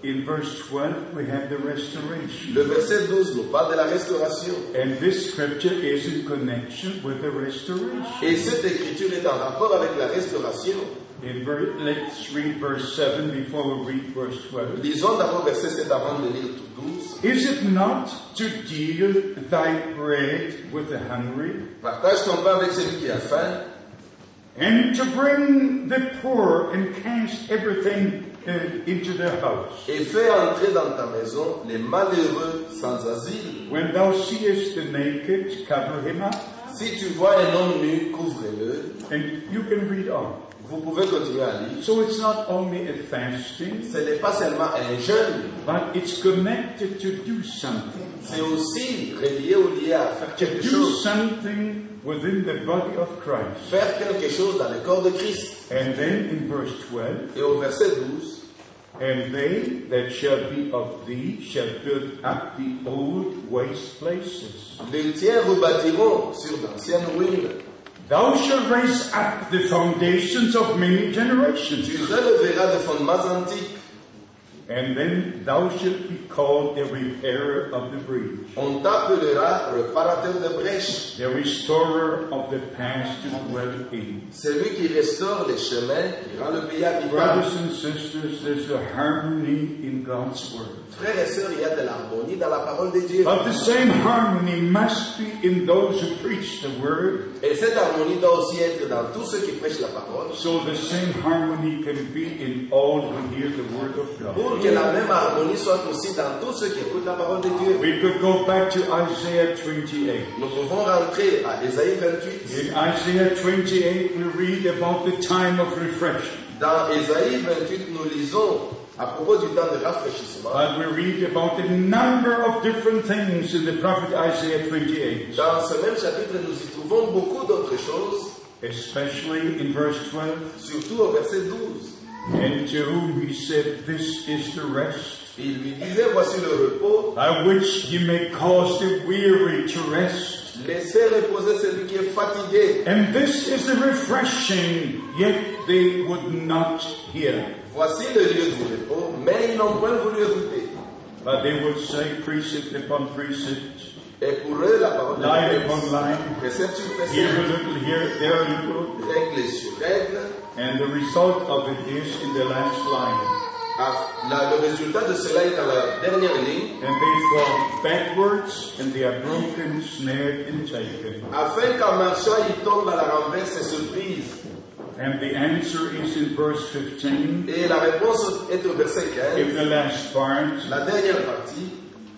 in verse twelve, we have the restoration. Le verset douze nous parle de la restauration. And this scripture is in connection with the restoration. Et cette écriture est en rapport avec la restauration. In ver- let's read verse seven before we read verse twelve. Lisons d'abord verset sept avant de lire tout douze. Is it not to deal thy bread with the hungry, Partage ton pain avec celui qui a faim, and to bring the poor and cast everything uh, into their house? et fais entrer dans ta maison les malheureux sans asile. When thou seest the naked, cover him up. Si tu vois un homme nu, couvre-le. And you can read on. Vous pouvez continuer à lire. So it's not only a fasting, Ce n'est pas seulement un jeûne, but it's connected to do something. c'est aussi relié ou lié à faire To quelque do chose. something within the body of Christ. Faire quelque chose dans le corps de Christ. And then in verse twelve, Et au verset douze, and they that shall be of thee shall build up the old waste places. les tiens rebâtiront sur d'anciennes ruines. Thou shalt raise up the foundations of many Tu generations. releveras des fondements antiques. And then thou shalt be called the repairer of the breach, On t'appellera réparateur de brèches. the restorer of the past to dwell in. Celui qui restaure les chemins, qui rend le pays habitable. Brothers and sisters, there's a harmony in God's word. Frères et sœurs, il y a de l'harmonie dans la parole de Dieu. But the same harmony must be in those who preach the word. Et cette harmonie doit aussi être dans tous ceux qui prêchent la parole. So the same harmony can be in all who hear the word of God. Pour que la même harmonie soit aussi dans tous ceux qui écoutent la parole de Dieu. We could go back to Isaiah twenty-eight. Nous pouvons rentrer à Ésaïe vingt-huit. In Isaiah twenty-eight, we read about the time of refreshing. Dans Ésaïe vingt-huit, nous lisons à propos du temps de rafraîchissement. But we read about a number of different things in the prophet Isaiah twenty-eight, Dans ce même chapitre, nous y trouvons beaucoup d'autres choses, especially in verse twelve, surtout au verset douze. and to whom he said, "This is the rest, Il lui disait, voici le repos, by which he may cause the weary to rest. laissez reposer celui qui est fatigué. And this is the refreshing," yet they would not hear. Voici le lieu du repos, mais ils n'ont point voulu écouter. But they would say precept upon precept, Et pour eux, la parole de line Dieu, upon line, précepte sur here a précepte, little, here, there a little, règle sur règle. and the result of it is in the last line. Ah, la- le résultat de cela est dans la dernière ligne, And they fall backwards, and they are broken, snared, and taken. afin qu'en marchant, ils tombent à la renverse et se brisent. And the answer is in verse fifteen, Et la réponse est au verset in quinze, the last part. la dernière partie.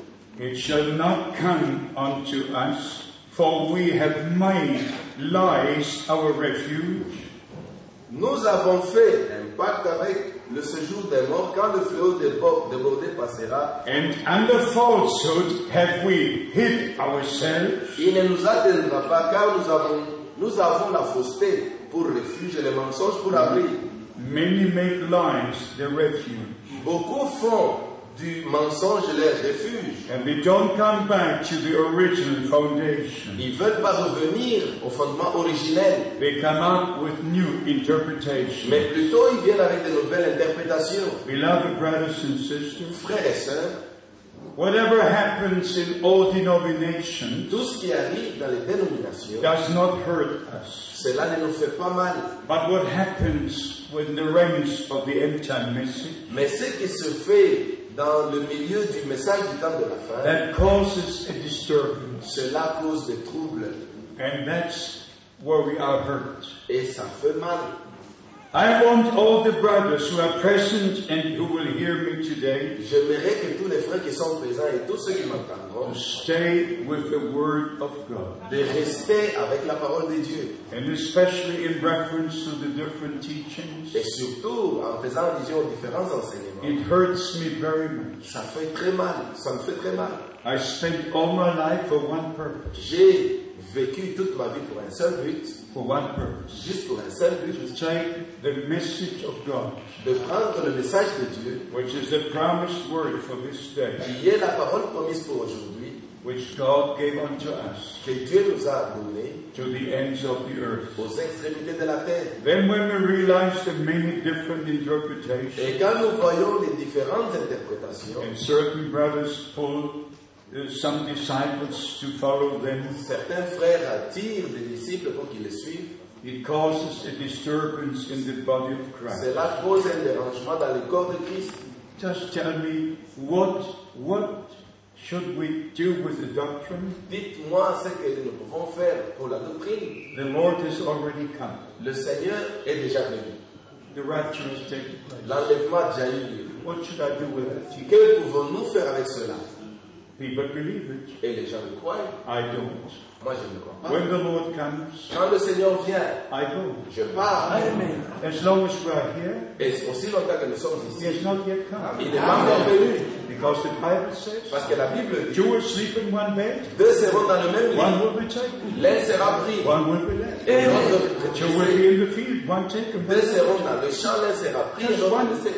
It shall not come unto us, for we have made lies our refuge, Nous avons fait un pacte avec le séjour des morts quand le fleuve débord- débordé passera. and under falsehood have we hid ourselves. Il ne nous atteindra pas car nous avons, nous avons la fausseté pour refuge et le mensonge pour abri. Many make lies their refuge, Beaucoup font du mensonge leur refuge. and they don't come back to the original foundation. Ils veulent pas revenir au fondement originel, They come up with new interpretations. mais plutôt ils viennent avec de nouvelles interprétations. Beloved brothers and sisters, Frères et sœurs, whatever happens in all denominations tout ce qui arrive dans les dénominations, does not hurt us. cela ne nous fait pas mal. But what happens when the reigns of the end time message Mais ce qui se fait dans le milieu du message du temps de la fin, that causes a disturbance, cela cause des troubles and that's where we are hurt. et ça fait mal. I want all the brothers who are present and who will hear me today J'aimerais que tous les frères qui sont présents et tous ceux qui m'entendront, to stay with the Word of God, de rester avec la parole de Dieu. and especially in reference to the different teachings. Et surtout, en faisant allusion aux différents enseignements, It hurts me very much. ça fait très mal, ça me fait très mal. I spent all my life for one purpose, J'ai vécu toute ma vie pour un seul but, for one purpose, juste pour un seul to but, take the message of God, de prendre le message de Dieu, which is the promised word for this day, qui est la parole promise pour aujourd'hui, which God gave unto us, que Dieu nous a donné to the ends of the earth. aux extrémités de la terre. Then when we realize the many different interpretations, Et quand nous voyons les différentes interprétations, and certain brothers pull uh, some disciples to follow them, certains frères attirent des disciples pour qu'ils les suivent, it causes a disturbance in the body of Christ. cela cause un dérangement dans le corps de Christ. Just tell me, what, what should we do with the doctrine? Dites-moi ce que nous pouvons faire pour la doctrine. The Lord has already come. Le Seigneur est déjà venu. The rapture has taken place. L'enlèvement a déjà eu lieu. What should I do with it? Que pouvons-nous faire avec cela? People believe it. Et les gens le croient. I don't. Moi, je ne crois pas. When the Lord comes, Quand le Seigneur vient, I go. je pars. Amen. As long as we are here, Et aussi longtemps que nous sommes He ici, has not yet come. il n'est pas encore venu. Because the Bible says, Parce que la Bible dit, two will sleep in one bed, deux seront dans le même one lit. will be taken, L'un sera pris. one will be left. Et l'autre Two will laissé. be in the field, one taken, one Deux left. seront dans le champ, l'un sera pris et l'autre laissé.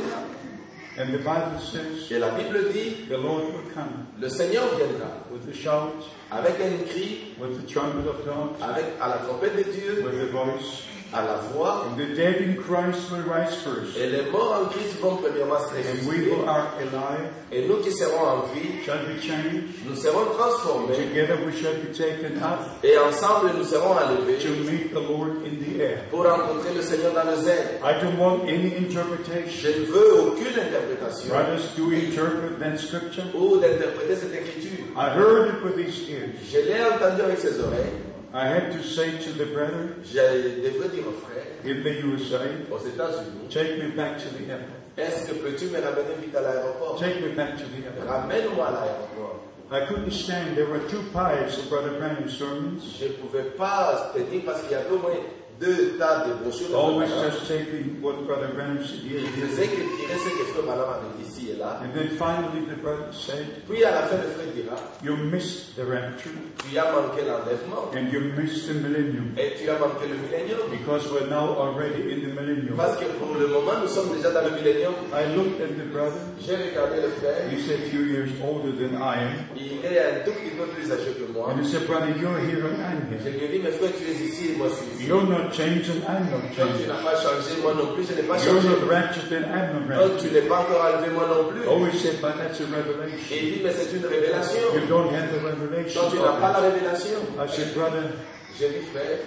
And the Bible says, Et la Bible dit, the Lord will come le Seigneur viendra with a shout, avec un cri, with the trumpet of God, avec à la trompette de Dieu, with a voice, à la voix. and the dead in Christ will rise first. Et les morts en Christ vont premièrement se And we ressusciter. who are alive Et nous qui serons en vie, shall be changed. nous serons transformés. Together we shall be taken up Et ensemble, nous serons enlevés to meet the Lord in the air. pour rencontrer le Seigneur dans les airs. I don't want any Je interpretation. ne veux aucune interprétation Brothers, do we interpret that scripture? ou d'interpréter cette écriture. I heard it with these ears. Je l'ai entendu avec ses oreilles. I had to say to the brother Je devrais dire aux frères, in the U S A, aux États-Unis, take me back to the airport. est-ce que peux-tu me ramener vite à l'aéroport? Take me back to the airport. Ramène-moi à l'aéroport. I couldn't stand. There were two piles of Brother Branham's sermons, Je ne pouvais pas tenir parce qu'il y avait au moins deux tas de brochures. always just taking what Brother Branham said Il here. faisait que tirer ce que Frère Malam avait dit ici et là. And then finally the brother said, Puis à la fin, le frère dira, you missed the rapture tu as manqué l'enlèvement and you missed the millennium et tu as manqué le millénium. because we're now already in the millennium. Parce que pour le moment, nous sommes déjà dans le millénium. I looked at the brother. J'ai regardé le frère. He's a few years older than I am. Il est un tout petit peu plus âgé que moi. And he said, brother, you're here and I'm Je here. lui ai dit, mais frère, tu es ici et moi je suis ici. You're not changing, I'm not Toi, tu changing. n'as pas changé, moi non plus, je n'ai pas You're changé. not raptured and I'm not Toi, raptured. tu n'es pas encore enlevé, moi non plus. Always said, but that's a Et revelation. il dit, mais c'est une révélation. You don't have the revelation. Toi, tu n'as pas la révélation. I said, brother, J'ai dit, frère,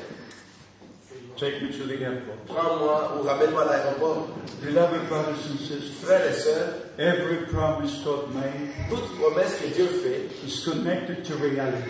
take me to the airport. prends-moi ou ramène-moi à l'aéroport. Beloved brothers and sisters, Frères et sœurs, every promise God made toute promesse que Dieu fait is connected to reality.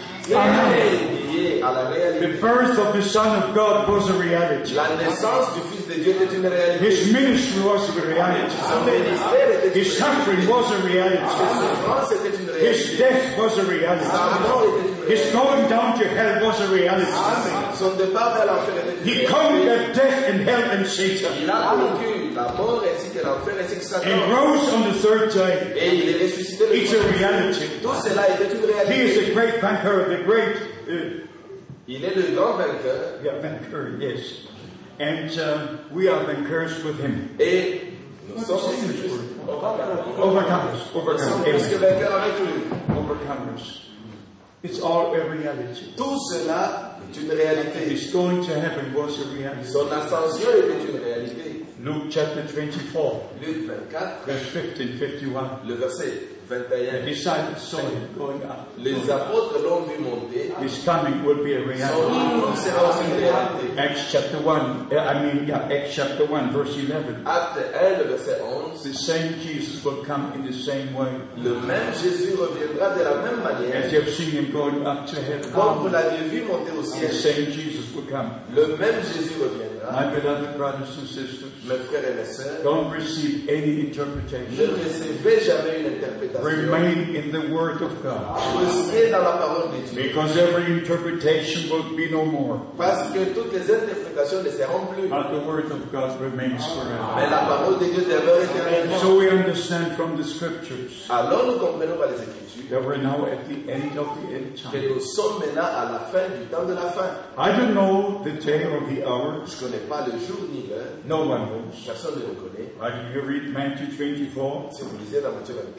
est liée à la The réalité. birth of the Son of God was a reality. La naissance du Fils de Dieu était une réalité. His ministry was a reality. Son ministère était une His réalité. suffering was a Sa reality. souffrance était une His réalité. death was a Sa reality. mort était une His réalité. going down to hell was a reality. Son départ vers l'enfer était une He réalité. conquered death and hell and Satan. Il a vaincu la mort ainsi que l'enfer ainsi que And Satan. rose on the third day. Et il est ressuscité le It's a troisième jour. reality. Tout cela était une He is réalité. a great banker, the great uh, Il est le grand vainqueur. yeah, banker, yes. And uh, we are bankers with him. Et nous sommes aussi plus Overcomers, Nous sommes overcomers, plus que Amen. vainqueurs avec lui. Overcomers. It's all a reality. Tout cela est une réalité. His going to heaven was a reality. Son ascension était une réalité. Luke chapter twenty-four, Luc vingt-quatre, verse fifteen, fifty-one. le verset vingt et The un. disciples saw him going up. Les apôtres l'ont vu monter. His coming will be a Son reality. retour sera aussi une réalité. Acts chapter one, uh, I mean, yeah, Acts chapter one, verse eleven. Acte un, le verset onze. The same Jesus will come in the same way. Le même Jésus reviendra de la même As manière. you have seen him going up to Comme vous heaven, l'avez vu monter au the ciel. same Jesus will come. Le même Jésus reviendra. My beloved brothers and sisters, Mes frères et mes sœurs, don't receive any ne interpretation. recevez jamais une interprétation. Remain in the Word of God. Restez dans la parole de Dieu. Because every interpretation will be no more. Parce que toutes les interprétations ne seront plus. But the Word of God remains Mais forever. la parole de Dieu demeure éternellement. So we understand from the Scriptures Alors nous comprenons par les Écritures that we're now at the end of the end que time. nous sommes maintenant à la fin du temps de la fin. I don't know the day or the hour. Je ne connais pas le jour ni l'heure. No one knows. Personne ne le connaît. But if you read Matthew twenty-four, Si vous lisez dans Matthieu vingt-quatre, Mark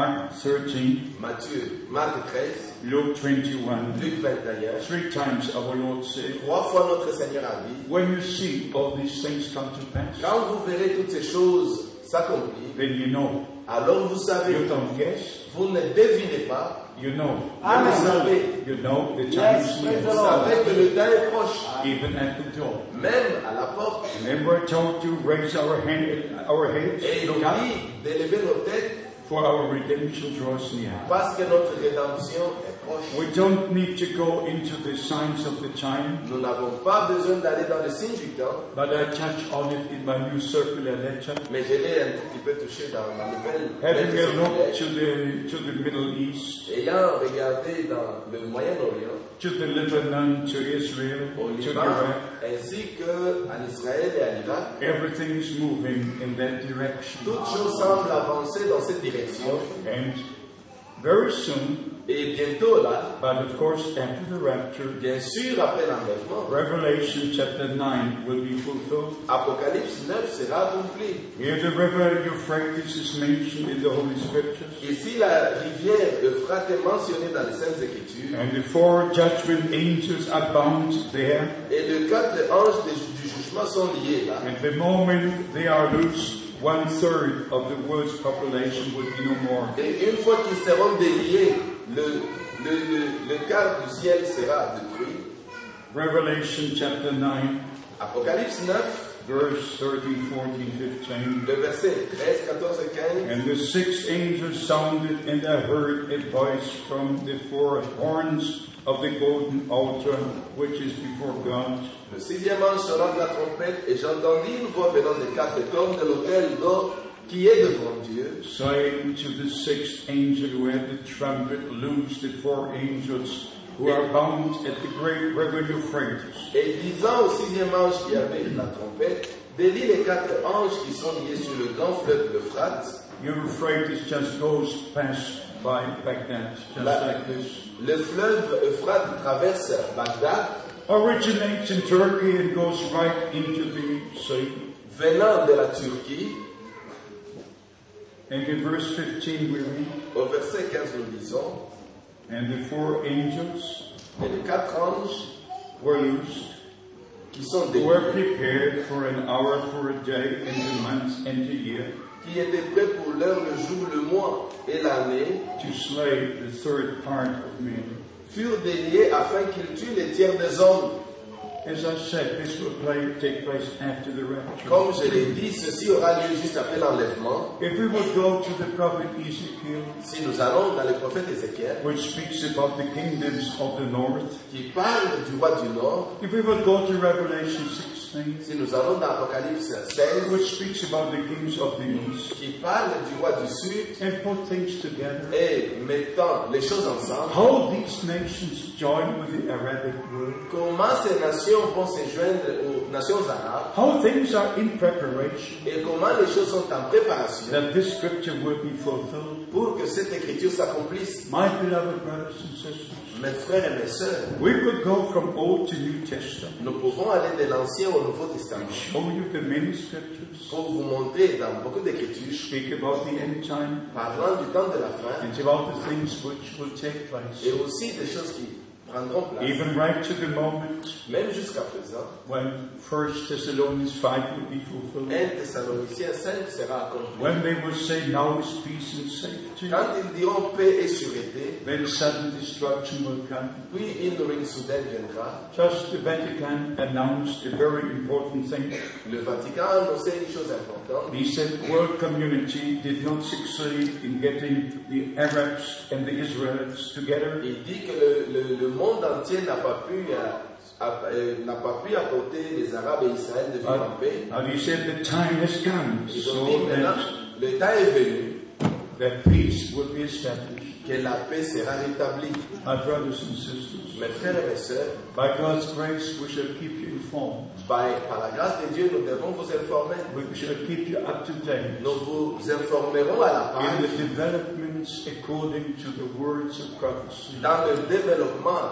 Mark thirteen, Matthieu, Marc treize, Luke twenty-one. Luc vingt et un. Three times our Lord said, Trois fois notre Seigneur a dit, when you see all these things come to pass, quand vous verrez toutes ces choses s'accomplir, then you know. alors vous savez, You don't guess. vous ne devinez pas, You know. vous le savez, You know the time Yes, is praise near, the vous savez que le temps est proche, even at the door. même à la porte. Remember I told you, raise our hand, our heads, Et il look up, dit d'élever nos têtes for our redemption draws near. parce que notre rédemption est proche. We don't need to go into the signs of the time, Nous n'avons pas besoin d'aller dans le signe du temps, but I touch on it in my new circular letter. mais je l'ai un tout petit peu touché dans ma nouvelle Having a look lettre to the to the Middle East, ayant regardé dans le Moyen-Orient, to the Lebanon, to Israel, au to Liban, Iraq, ainsi qu'en Israël et à l'Irak, everything is moving in that direction. toutes choses semblent avancer dans cette direction. And very soon, Et bientôt là, but of course after the rapture, bien sûr après l'enlèvement, Revelation chapter nine will be fulfilled. Apocalypse neuf sera accompli. Here the river Euphrates is mentioned in the Holy Scriptures. Ici, la rivière Euphrate est mentionnée dans les Saintes Écritures. And the four judgment angels are bound there. Et les quatre anges du du jugement sont liés là. And the moment they are loose, one third of the world's population will be no more. Et une fois qu'ils seront déliés, le, le, le, le quart du ciel sera détruit. Revelation chapter nine, Apocalypse neuf, verse thirteen, fourteen, fifteen. le verset treize, quatorze et quinze. And the sixth angel sounded, and I heard a voice from the four horns of the golden altar, which is before God. Le sixième ange sonna de la trompette, et j'entendis une voix venant des quatre cornes de l'autel d'or qui est devant Dieu, Saying to the sixth angel who had the trumpet, loose the four angels who are bound at the great river Euphrates. et disant au sixième ange qui avait la trompette, délie les quatre anges qui sont liés sur le grand fleuve l'Euphrate. Euphrates just goes past by Baghdad, just La- like this. Le fleuve Euphrate traverse Bagdad, Originates in Turkey and goes right into the sea. venant de la Turquie. And in verse fifteen we read, Au verset quinze, nous lisons, and the four angels et les quatre anges were loosed, qui sont who were déliés, prepared for an hour, for a day, and a month, and a year, qui étaient prêts pour l'heure, le jour, le mois et l'année, to slay the third part of men. furent déliés afin qu'ils tuent les tiers des hommes. As I said, this will play, take place after the rapture. Comme je l'ai dit, ceci aura lieu juste après l'enlèvement. If we would go to the prophet Ezekiel, Si nous allons dans le prophète Ézéchiel, which speaks about the kingdoms of the north, qui parle du roi du Nord, if we would go to Revelation sixteen, si nous allons dans Apocalypse seize, which speaks about the kings of the east, qui parle du roi du Sud, and put things together, et mettant les choses ensemble, how these nations join with the Arabic world, comment ces nations vont se joindre aux nations arabes, how things are in preparation, et comment les choses sont en préparation that this scripture will be fulfilled. pour que cette écriture s'accomplisse. My beloved brothers and sisters, Mes frères et mes sœurs, we could go from Old to New Testament, nous pouvons aller de l'Ancien au Nouveau Testament show you the many scriptures, pour vous montrer dans beaucoup d'écritures, speak about the end time, parlant du temps de la fin, and about the things which will take place. et aussi des choses qui prendront place, Even right to the moment même jusqu'à présent. when First Thessalonians five will be fulfilled, un Thessaloniciens cinq sera accompli. when they will say, now is peace and safety, Quand ils diront paix et sûreté, then sudden destruction will come. puis une ruine soudaine viendra. Just the Vatican announced a very important thing. Le Vatican a annoncé une chose importante. He said world community did not succeed in getting the Arabs and the Israelites together. Il dit que le, le, le monde entier n'a pas pu euh, a- euh, n'a pas pu apporter les Arabes et Israël de vivre en paix. And he said the time has come Ils ont so dit maintenant, that, le temps est venu that peace will be established. que la paix sera rétablie. My brothers and sisters, Mes frères et mes sœurs, by God's grace we shall keep you informed. by, par la grâce de Dieu, nous devons vous informer. We shall keep you up to date Nous vous informerons à la in the page developments according to the words of prophecy. dans le développement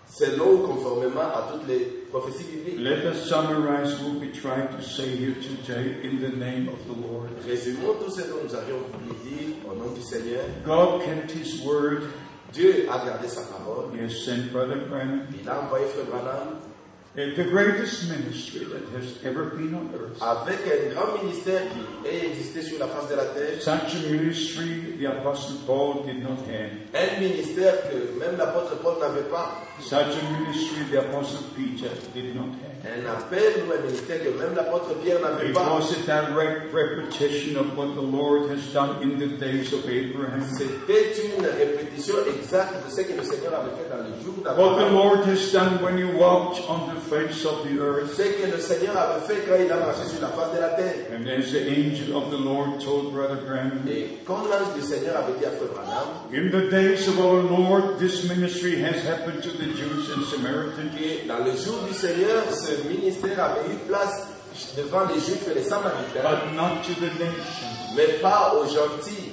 selon ou conformément à toutes les prophéties bibliques. Let us summarize what we try to say here today in the name of the Lord. Résumons tout ce que nous avions voulu dire au nom du Seigneur. God kept His word. Dieu a gardé sa parole. He has sent Brother Branham. Il a envoyé Frère Branham. And the greatest ministry that has ever been on earth. Avec un grand ministère qui ait existé sur la face de la terre. Such a ministry the Apostle Paul did not have. Un ministère que même l'apôtre Paul n'avait pas. Such a ministry the Apostle Peter did not have. Un appel ou un ministère que même l'apôtre Pierre n'avait It pas. was a direct repetition of what the Lord has done in the days of Abraham. C'était une répétition exacte de ce que le Seigneur avait fait dans les jours What the d'Abraham. Lord has done when He walked on the face of the earth. Ce que le Seigneur avait fait quand il a marché sur la face de la terre. And as the angel of the Lord told Brother Branham, Et comme l'ange du Seigneur avait dit à Frère Branham, in the days of our Lord, this ministry has happened to the Jews and Samaritans. que dans le jour du Seigneur, ce ministère avait eu place devant les Juifs et les Samaritains, But not to the nations. mais pas aux gentils.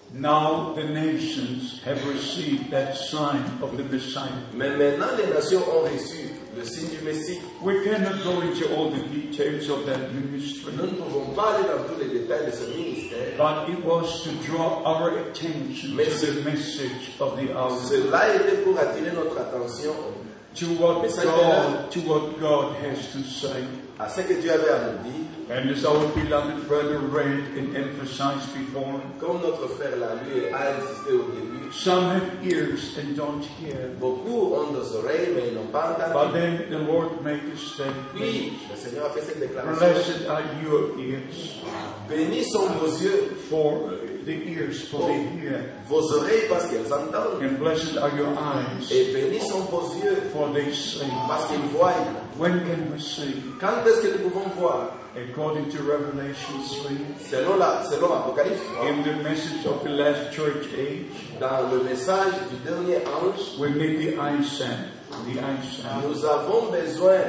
Now the nations have received that sign of the Messiah. Mais maintenant, les nations ont reçu le signe du Messie. We cannot go into all the details of that ministry, Nous ne pouvons pas aller dans tous les détails de ce ministère. but it was to draw our attention to the message of the hour, Cela était pour attirer notre attention to what God, to what God has to say. à ce que Dieu avait à nous dire. And as our beloved brother read and emphasized before, Comme notre frère l'a lu et a insisté au début, some have ears and don't hear. beaucoup ont des oreilles mais ils n'ont pas But entendu. then the Lord made a statement. Puis, le Seigneur a fait cette déclaration. Blessed are your ears, Bénis sont vos yeux, for the ears, for they hear. vos oreilles parce qu'elles entendent. And blessed are your eyes, Et bénis sont vos yeux for they see. parce qu'ils voient. When can we see? Quand est-ce que nous pouvons voir? According to Revelation three, Selon la, selon Apocalypse trois, in the message of the last church age, dans le message du dernier ange, we need the eyesight. The eyesight. nous avons besoin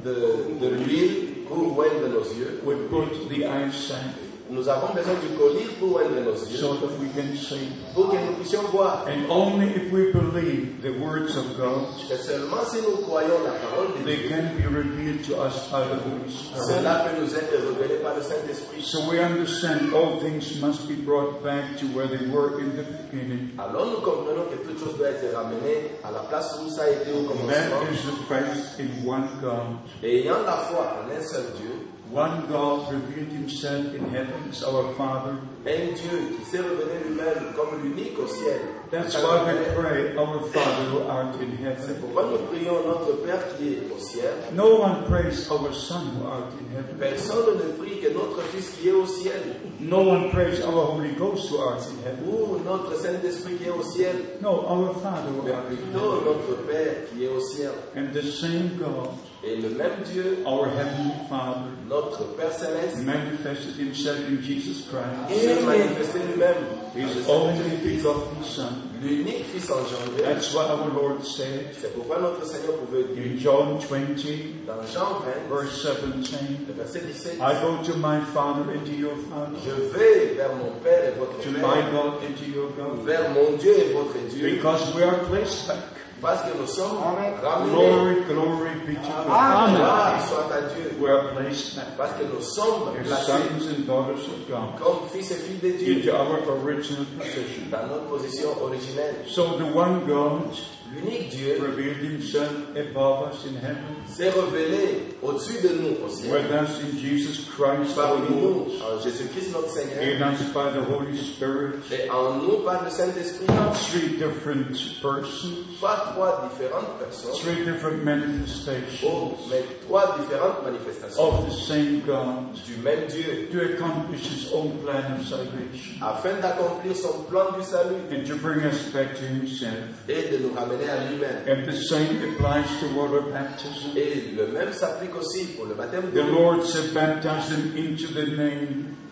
de, de l'huile pour oindre nos yeux. We put the eyesight Nous avons besoin du collier pour oindre nos yeux, so that we can see. pour que nous puissions voir. And only if we believe the words of God, Et seulement si nous croyons la parole de they Dieu, can be revealed to us by the Holy Spirit. cela peut nous être révélé par le Saint-Esprit. So we understand all things must be brought back to where they were in the beginning. Alors nous comprenons que toute chose doit être ramenée à la place où ça a été au And that commencement. is the faith in one God. Et ayant la foi en un seul Dieu, One God revealed himself in heaven as our Father. un Dieu qui s'est révélé lui-même comme l'unique au ciel. That's why we pray, our Father who art in C'est heaven. pourquoi nous prions notre Père qui est au ciel. No one prays our Son who art in heaven. Personne ne prie que notre Fils qui est au ciel, No one prays our Holy Ghost who art in heaven. ou notre Saint-Esprit qui est au ciel, No, our Father who mais art in plutôt heaven. notre Père qui est au ciel. And the same God, Et le même Dieu, our Heavenly Father, notre Père Céleste, manifested himself in Jesus Christ, s'est manifesté lui-même, dans le his Saint-Esprit, only begotten Son. l'unique Fils engendré. That's what our Lord said C'est pourquoi notre Seigneur pouvait dire in John twenty, dans Jean vingt, verse seventeen, le verset dix-sept, I go to my Father and to your Father, je vais vers mon Père et votre to my Père, God and to your God, vers mon Dieu et votre Dieu, because we are placed back. parce que nous sommes ramenés. Glory, glory be to God. Gloire soit à Dieu, We are placed back parce que nous sommes as placés sons and daughters of God comme fils et filles de Dieu into our original position. dans notre position originelle. So the one God L'unique Dieu revealed himself above us in heaven, s'est révélé au-dessus de nous au ciel, with us in Jesus Christ our parmi Lord, nous en Jésus-Christ notre Seigneur, in us by the Holy Spirit. et en nous par le Saint-Esprit. Three different persons, Pas trois différentes personnes, three different manifestations oh, mais trois différentes manifestations of the same God du même Dieu, to accomplish his own plan of salvation afin d'accomplir son plan du salut and to bring us back to himself. et de nous ramener à lui-même. And the same applies to water baptism. Et le même s'applique aussi pour le baptême de The l'eau. Lord said, baptize them into the name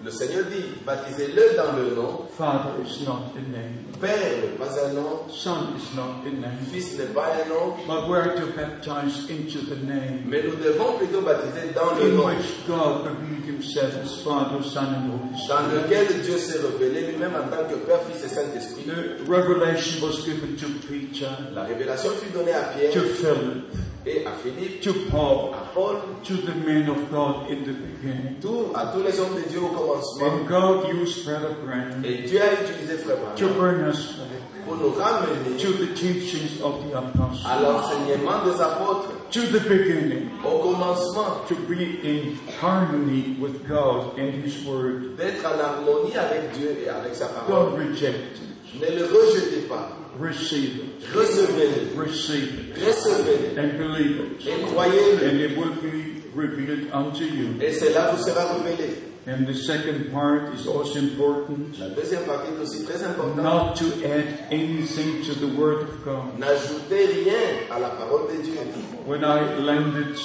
Le Seigneur dit, baptisez-le dans le nom. Father is not a name. Père n'est pas un nom. Son is not a name. Fils n'est pas un nom. But we are to baptize into the name Mais nous devons plutôt baptiser dans le in nom. which God revealed himself as Father, Son, and Holy Dans Spirit. lequel Dieu s'est révélé lui-même en tant que Père, Fils et Saint-Esprit. The revelation was given to Peter, La révélation fut donnée à Pierre to Philip, et à Philippe, to Paul, à Paul, to the men of God in the beginning. tout, à tous les hommes de Dieu au commencement. And God used Brother Branham Et Dieu a utilisé Frère to Branham bring us back pour nous ramener to the teachings of the à apostles, l'enseignement des apôtres, to the beginning, au commencement, to be in harmony with God and His Word. d'être en harmonie avec Dieu et avec sa parole. Don't reject it. Ne le rejetez pas, Receive it. recevez-le, Receive it. recevez-le And believe it. et croyez-le. And it will be revealed unto you. Et cela vous sera révélé. And the second part is also important. La deuxième partie est aussi très importante. Not to add anything to the Word of God. N'ajoutez rien à la parole de Dieu. When I landed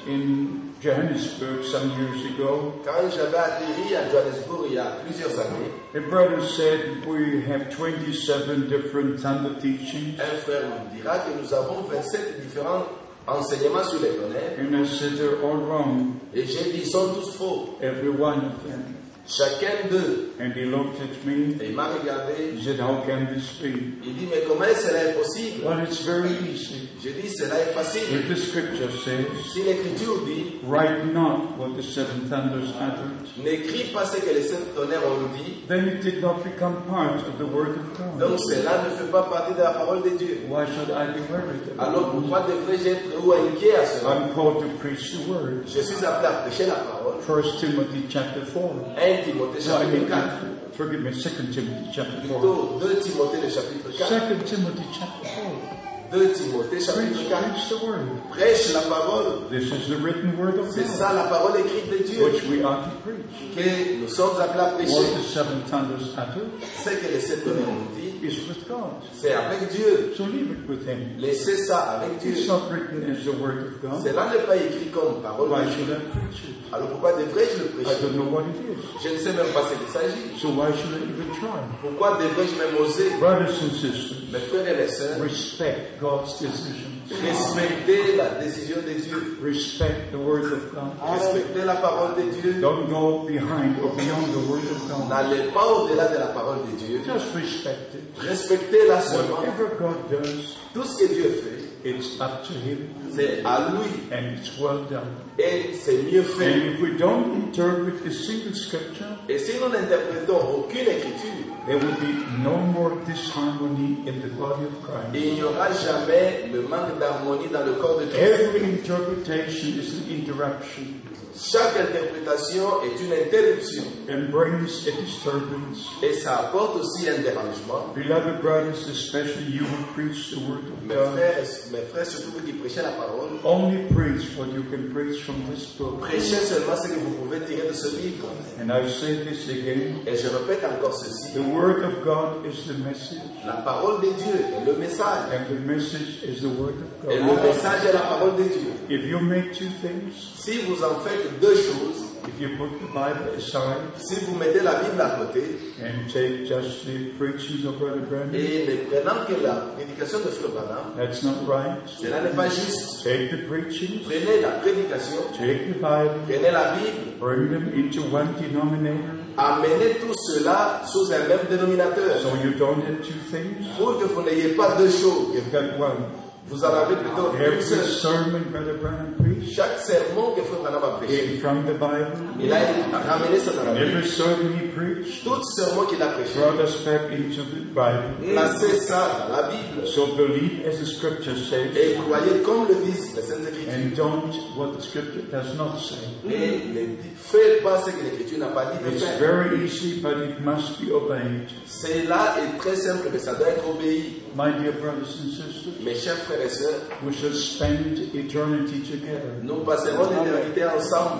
in Johannesburg some years ago, Quand j'avais atterri à Johannesburg il y a plusieurs années, a brother said we have twenty-seven different Thunder teachings. un frère nous dira que nous avons vingt-sept différents enseignements sur les tonnerres. And I said they're all wrong, Et j'ai dit, ils sont tous faux. every one of them. Chacun d'eux. And he looked at me, Et il m'a regardé. he said, how can this be? Il dit, mais comment cela est possible? Well, it's very easy. J'ai dit, cela est facile. If the scripture says, Si l'Écriture dit, write not what the seven thunders uttered, n'écris pas ce que les sept tonnerres ont dit, then it did not become part of the Word of God. donc cela ne fait pas partie de la parole de Dieu. Why should I be worried about Alors pourquoi devrais-je être ou inquiet à it? cela? I'm called to preach the Word. Je suis appelé à prêcher la parole. First Timothy chapter four. un Timothée No, I chapitre mean, quatre. forgive me, Second Timothy chapter four. Plutôt deux Timothée le chapitre quatre. Second Timothy chapter four. deux Timothée chapitre Preach, quatre. preach the Word. Prêche la parole. This is the written Word of C'est God, ça la parole écrite de Dieu which we ought to preach. que nous sommes appelés à What prêcher. the seven thunders uttered Ce que les sept tonnerres ont dit, is with God. c'est avec Dieu. So leave it with Him. Laissez ça avec It's Dieu. not written as the Word of God. Cela n'est pas écrit comme parole Why de should Dieu. I preach it? Alors pourquoi devrais-je le I prêcher? don't know what it is. Je ne sais même pas ce qu'il s'agit. So why should I even try? Pourquoi devrais-je même oser? Brothers and sisters, Mes frères et mes sœurs, respect God's decisions. respectez la décision de Dieu. Respect the Word of God. Respectez la parole de Dieu. Don't go behind or beyond the Word of God. N'allez pas au-delà de la parole de Dieu. Just respect it. Respectez-la seulement. Whatever God does, Tout ce que Dieu fait, it's up to Him c'est à lui and it's well done. et c'est mieux And fait. if we don't interpret a single scripture, Et si nous n'interprétons aucune écriture, there will be no more disharmony in the body of Christ. il n'y aura jamais le manque d'harmonie dans le corps de Christ. Every interpretation is an interruption Chaque interprétation est une interruption and brings a disturbance. et ça apporte aussi un dérangement. Beloved brothers, especially you who preach the Word of Mes God, frères, mes frères, surtout vous qui prêchez la parole, only preach what you can preach from this book. prêchez seulement ce que vous pouvez tirer de ce livre. And I say this again, Et je répète encore ceci. the Word of God is the message, La parole de Dieu est le message. and the message is the Word of Et le God. message est la parole de Dieu. If you make two things, Si vous en faites deux choses, if you put the Bible aside si vous mettez la Bible à côté and take just the preachings of Brother Branham, et ne prenant que la prédication de Frère Branham, that's not right. cela n'est pas juste. Take the preachings, Prenez la prédication, take the Bible, prenez la Bible, bring them into one denominator, amenez tout cela sous un même dénominateur. so you don't have two things. Pour que vous n'ayez pas deux choses, You've got one. vous en avez plutôt Every une seule. sermon Brother Branham preached Chaque sermon que Frère Branham a prêché, came from the Bible. il a ramené ça dans la Bible. Every sermon he preached Tout sermon qu'il a prêché, brought us back into the Bible. placez ça dans la Bible So believe as the scripture says, et croyez comme le disent les Saintes Écritures. and don't what the scripture does not say. Et ne faites pas ce que l'Écriture n'a pas dit de It's faire. very easy, but it must be obeyed. Cela est très simple, mais ça doit être obéi. My dear brothers and sisters, Mes chers frères et sœurs, we should spend eternity together. nous passerons l'éternité ensemble.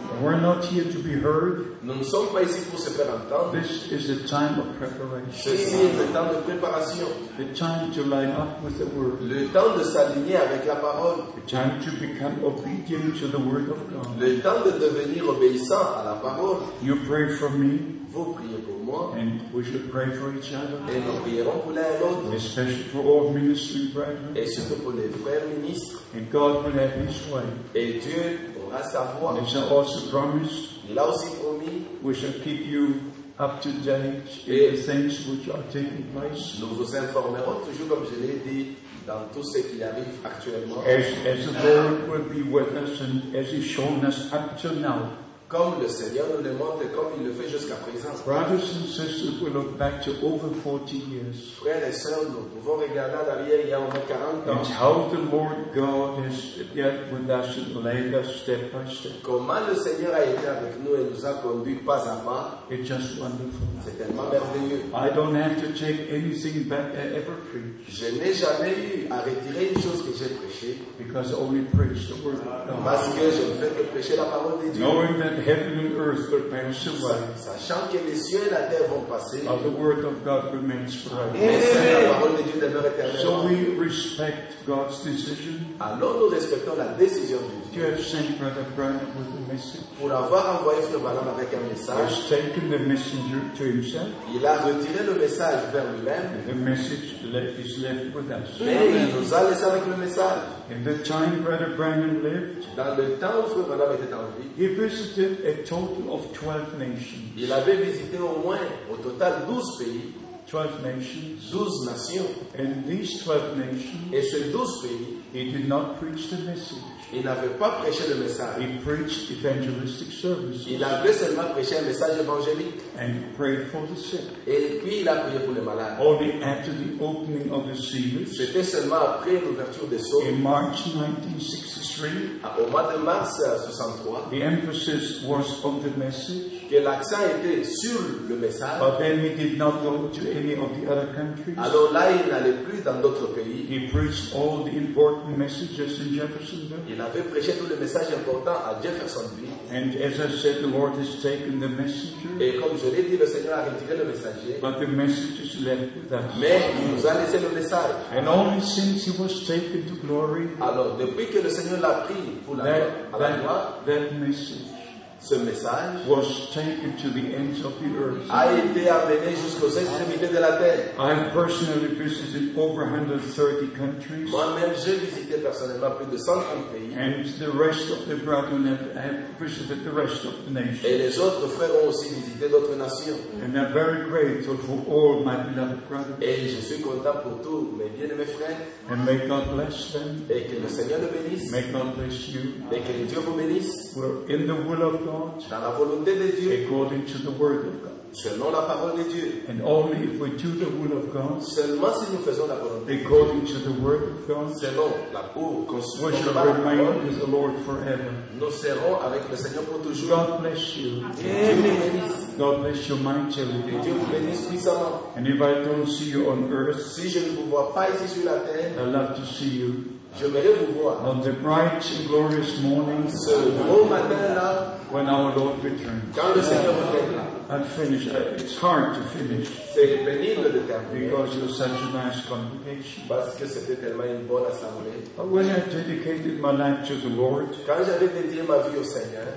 We're not here to be heard. Nous ne sommes pas ici pour se faire entendre. This is a time of preparation. Ceci est le temps de préparation. The time to line up with the Word. Le temps de s'aligner avec la parole. The time to become obedient to the Word of God. Le temps de devenir obéissant à la parole. You pray for me. Vous priez pour moi. And we should pray for each other. Et nous prierons pour l'un et l'autre. Especially for all ministry brethren. Et surtout pour les frères ministres. And God will have His way. Et Dieu aura sa voix. And He also promised. Il a aussi promis. We shall keep you up to date in the things which are taking place. Nous vous informerons toujours, comme je l'ai dit, dans tout ce qui arrive actuellement. As, as the Lord will be with us and as He's shown us up till now. Comme le Seigneur nous le montre et comme il le fait jusqu'à présent. Brothers and sisters, we look back to over forty years. Frères et sœurs, nous pouvons regarder en arrière il y a au moins quarante ans. And how the Lord God has dealt with us and led us step by step. Comment le Seigneur a été avec nous et nous a conduits pas à pas. It's just wonderful. C'est tellement merveilleux. I don't have to take anything back I ever preached. Je n'ai jamais eu à retirer une chose que j'ai prêchée. Because I only preach the word of God. Parce que je ne fais que prêcher la parole de Dieu. Knowing that heaven and earth will pass away, sachant que les cieux et la terre vont passer, but the word of God remains forever. la parole de Dieu demeure éternellement. So we respect God's decision. Alors nous respectons la décision de Dieu. You have sent Brother Branham with a message. Pour avoir envoyé Frère Branham avec un He message, has taken the messenger to himself. il a retiré le message vers lui-même. The message is left with us. Mais il nous a laissé avec le message. In the time Brother Branham lived, Dans le temps où Frère Branham était en vie, he visited a total of twelve nations. il avait visité au moins, au total, douze pays, Twelve nations. douze nations. And these twelve nations, Et ces douze pays, he did not preach the message. il n'avait pas prêché le message. He preached evangelistic services. Il avait seulement prêché un message évangélique. And he prayed for the sick. Et puis il a prié pour les malades. Only after the opening of the seals, C'était seulement après l'ouverture des sceaux, in March nineteen sixty-three, au mois de mars soixante-trois, the emphasis was on the message. que l'accent était sur le message. But then he did not go to any of the other countries. Alors là, il n'allait plus dans d'autres pays. He preached all the important messages in Jeffersonville. Il avait prêché tous les messages importants à Jeffersonville. And as I said, the Lord has taken the messenger, Et comme je l'ai dit, le Seigneur a retiré le messager. but the message is left with us. Mais il nous a laissé le message. And only since he was taken to glory, Alors, depuis que le Seigneur l'a pris pour la, that, à la gloire, that, that message ce message was taken to the ends of the earth. a été amené jusqu'aux extrémités de la terre. I have personally visited over one hundred thirty countries, Moi-même, j'ai visité personnellement plus de cent trente pays. and the rest of the brethren have, have visited the rest of the Et nations. les autres frères ont aussi visité d'autres nations. And I'm very grateful for all my beloved brothers. Et je suis content pour tous mes bien-aimés frères. And may God bless them. Et que le Seigneur le bénisse. May God bless you. Et que Dieu vous bénisse. We're in the will of God, Dans la volonté de Dieu. according to the word of God. Selon la parole de Dieu. And only if we do the will of God, Seulement si nous faisons la volonté de Dieu. according to the word of God, Selon la pour we consulter shall la remain parole, with the Lord forever. nous serons avec le Seigneur pour toujours. God bless you. Que Dieu vous bénisse. God bless you Que mightily. Dieu vous bénisse puissamment. And if I don't see you on earth, Si je ne vous vois pas ici sur la terre, I love to see you j'aimerais vous voir. on the bright and glorious morning Ce beau matin-là, when our Lord returns. quand le Seigneur reviendra. I'll finish. Uh, It's hard to finish C'est pénible de terminer. because you're such a nice congregation. Parce que c'était tellement une bonne assemblée. But when I dedicated my life to the Lord, Quand j'avais dédié ma vie au Seigneur,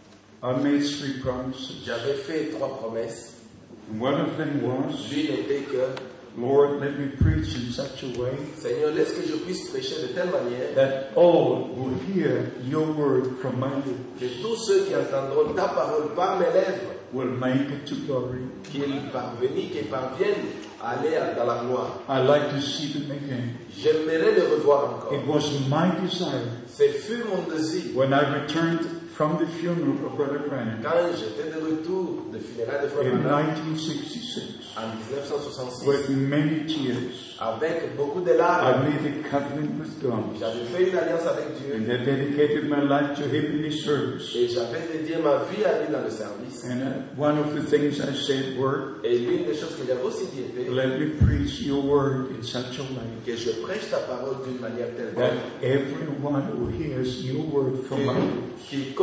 I made three promises. j'avais fait trois promesses. And one of them was, L'une était que, Lord, let me preach in such a way Seigneur, laisse que je puisse prêcher de telle manière that all will hear your word from my lips que tous ceux qui entendront ta parole par mes lèvres, will make it to glory. qu'ils parviennent, qu'ils parviennent à aller dans la gloire. I like to see them again. J'aimerais le revoir encore. It was my desire Ce fut mon désir. when I returned from the funeral of Brother Branham Quand j'étais de retour de funérailles de Frère in Branham nineteen sixty-six en dix-neuf cent soixante-six, with many tears. avec beaucoup de I larmes, made a covenant with God j'avais fait une alliance avec Dieu and I dedicated my life to Him in His service. et j'avais dédié ma vie à lui dans le service. And uh, one of the things I said were, Et l'une des choses que j'avais aussi dit était let me preach your word in such a way que je prêche ta parole d'une manière telle that everyone who hears your word from my lips que quiconque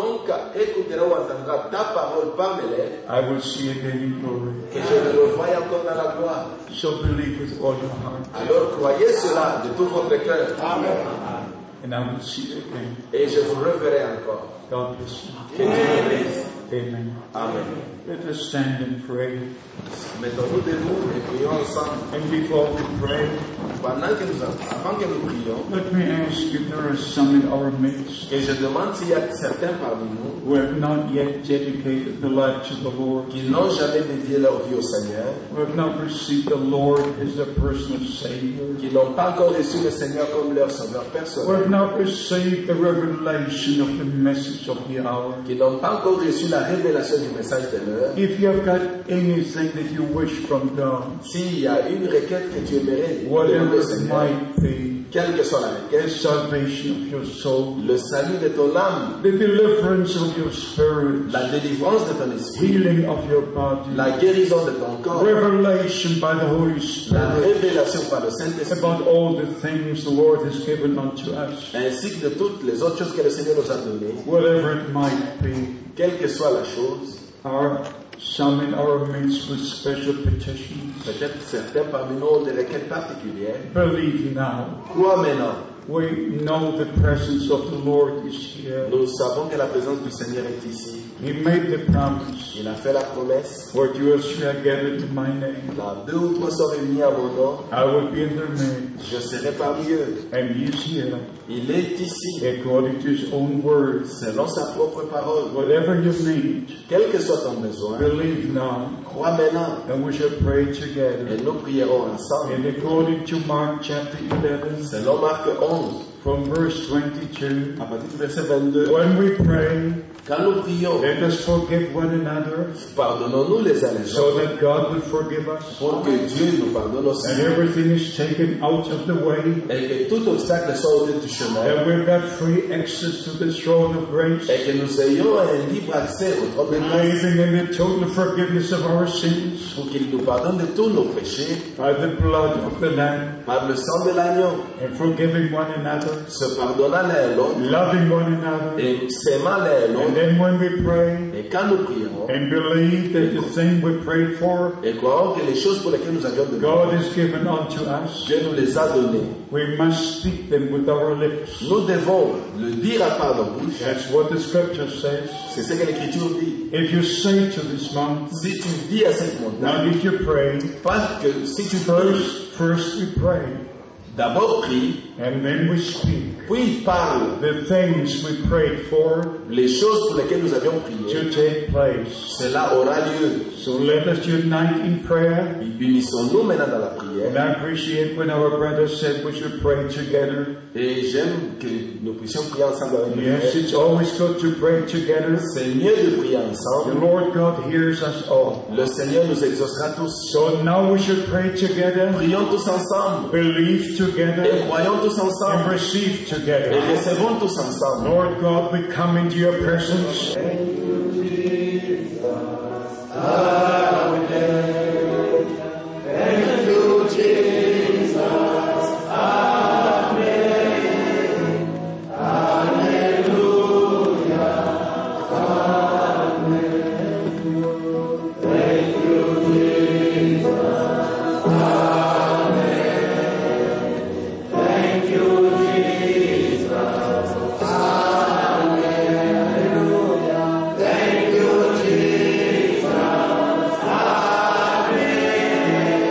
quiconque écoutera ou entendra ta parole par mes lèvres, I will see again in glory. et je le revois encore dans la gloire. So believe with all your heart, Alors croyez cela de tout votre cœur. Amen. and I will see you again. Et je vous reverrai encore. God bless you. Que Dieu vous bénisse. Amen. Amen. Let us stand and pray. Mettons-nous debout et prions ensemble. And before we pray, Pendant que nous, avant que nous prions, let me ask if there are some in our midst et je demande s'il y a certains parmi nous who have not yet dedicated the life to the Lord, qui n'ont jamais dédié leur vie au Seigneur, who have not received the Lord as their personal Savior, qui n'ont pas encore reçu le Seigneur comme leur sauveur who personnel, have not received the revelation of the message of the hour. qui n'ont pas encore reçu la révélation du message de l'heure. If you have got anything that you wish from God, S'il y a une requête que tu aimerais whatever demander au it Seigneur, might be, quelle que soit la the requête, salvation of your soul, le salut de ton âme, the deliverance of your spirit, la délivrance de ton esprit, healing of your body, la guérison de ton corps, revelation by the Holy la Spirit révélation par le Saint-Esprit, about all the things the Lord has given unto us, ainsi que de toutes les autres choses que le Seigneur nous a données, whatever it might be. quelle que soit la chose. Are some in our midst with special petitions? Peut-être certains parmi nous ont des requêtes particulières. Believe now. Crois maintenant. We know the presence of the Lord is here. Nous savons que la présence du Seigneur est ici. He made the promise. Il a fait la promesse. Where two or three are gathered in my name, Là, deux ou trois sont réunis à mon nom, I will be in their midst. je serai parmi eux. And He is here, Il est ici, according to His own word. selon sa propre parole. Whatever you need, Quel que soit ton besoin, believe now, crois maintenant. and we shall pray together. Et nous prierons ensemble. And according to Mark chapter eleven, Selon Marc onze, from verse twenty-two, à partir du verset vingt-deux. when we pray, Quand nous prions, let us forgive one another, pardonnons-nous les uns les so autres, that God will forgive us, pour que Dieu nous pardonne aussi, and everything is taken out of the way, et que tout obstacle soit ôté du chemin, and we've got free access to the throne of grace, et que nous ayons un libre accès au trône de grâce, believing in the total forgiveness of our sins pour qu'il nous pardonne de tous nos péchés, by the blood of the Lamb, par le sang de l'agneau, and forgiving one another, se pardonnant l'un à l'autre, loving one another. et s'aimant l'un à And l'autre. then when we pray Et quand nous prions, and believe that the thing we prayed for, et croyons que les choses pour lesquelles nous avions demandé, God has given unto us, Dieu nous les a données, we must speak them with our lips. nous devons le dire à part nos bouches. That's what the scripture says. C'est ce que l'Écriture dit. If you say to this mountain, Si tu dis à cette now montagne, if you pray, parce que si tu pries, first, first we pray, d'abord prie, and then we speak. puis parle The things we prayed for les choses pour lesquelles nous avions prié, to take place. cela aura lieu. So let us unite in prayer. Unissons-nous maintenant dans la And prière. I appreciate when our brother said we should pray together. Et j'aime que nous puissions prier ensemble avec les Yes, frères. it's always good to pray together. C'est mieux de prier The ensemble. Lord God hears us all. Le Seigneur nous exaucera tous. So now we should pray together, Prions tous ensemble. believe Et together, croyons tous and ensemble. receive Et together. recevons tous ensemble. Lord God, we come into your presence.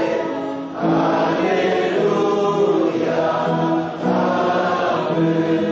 Amen.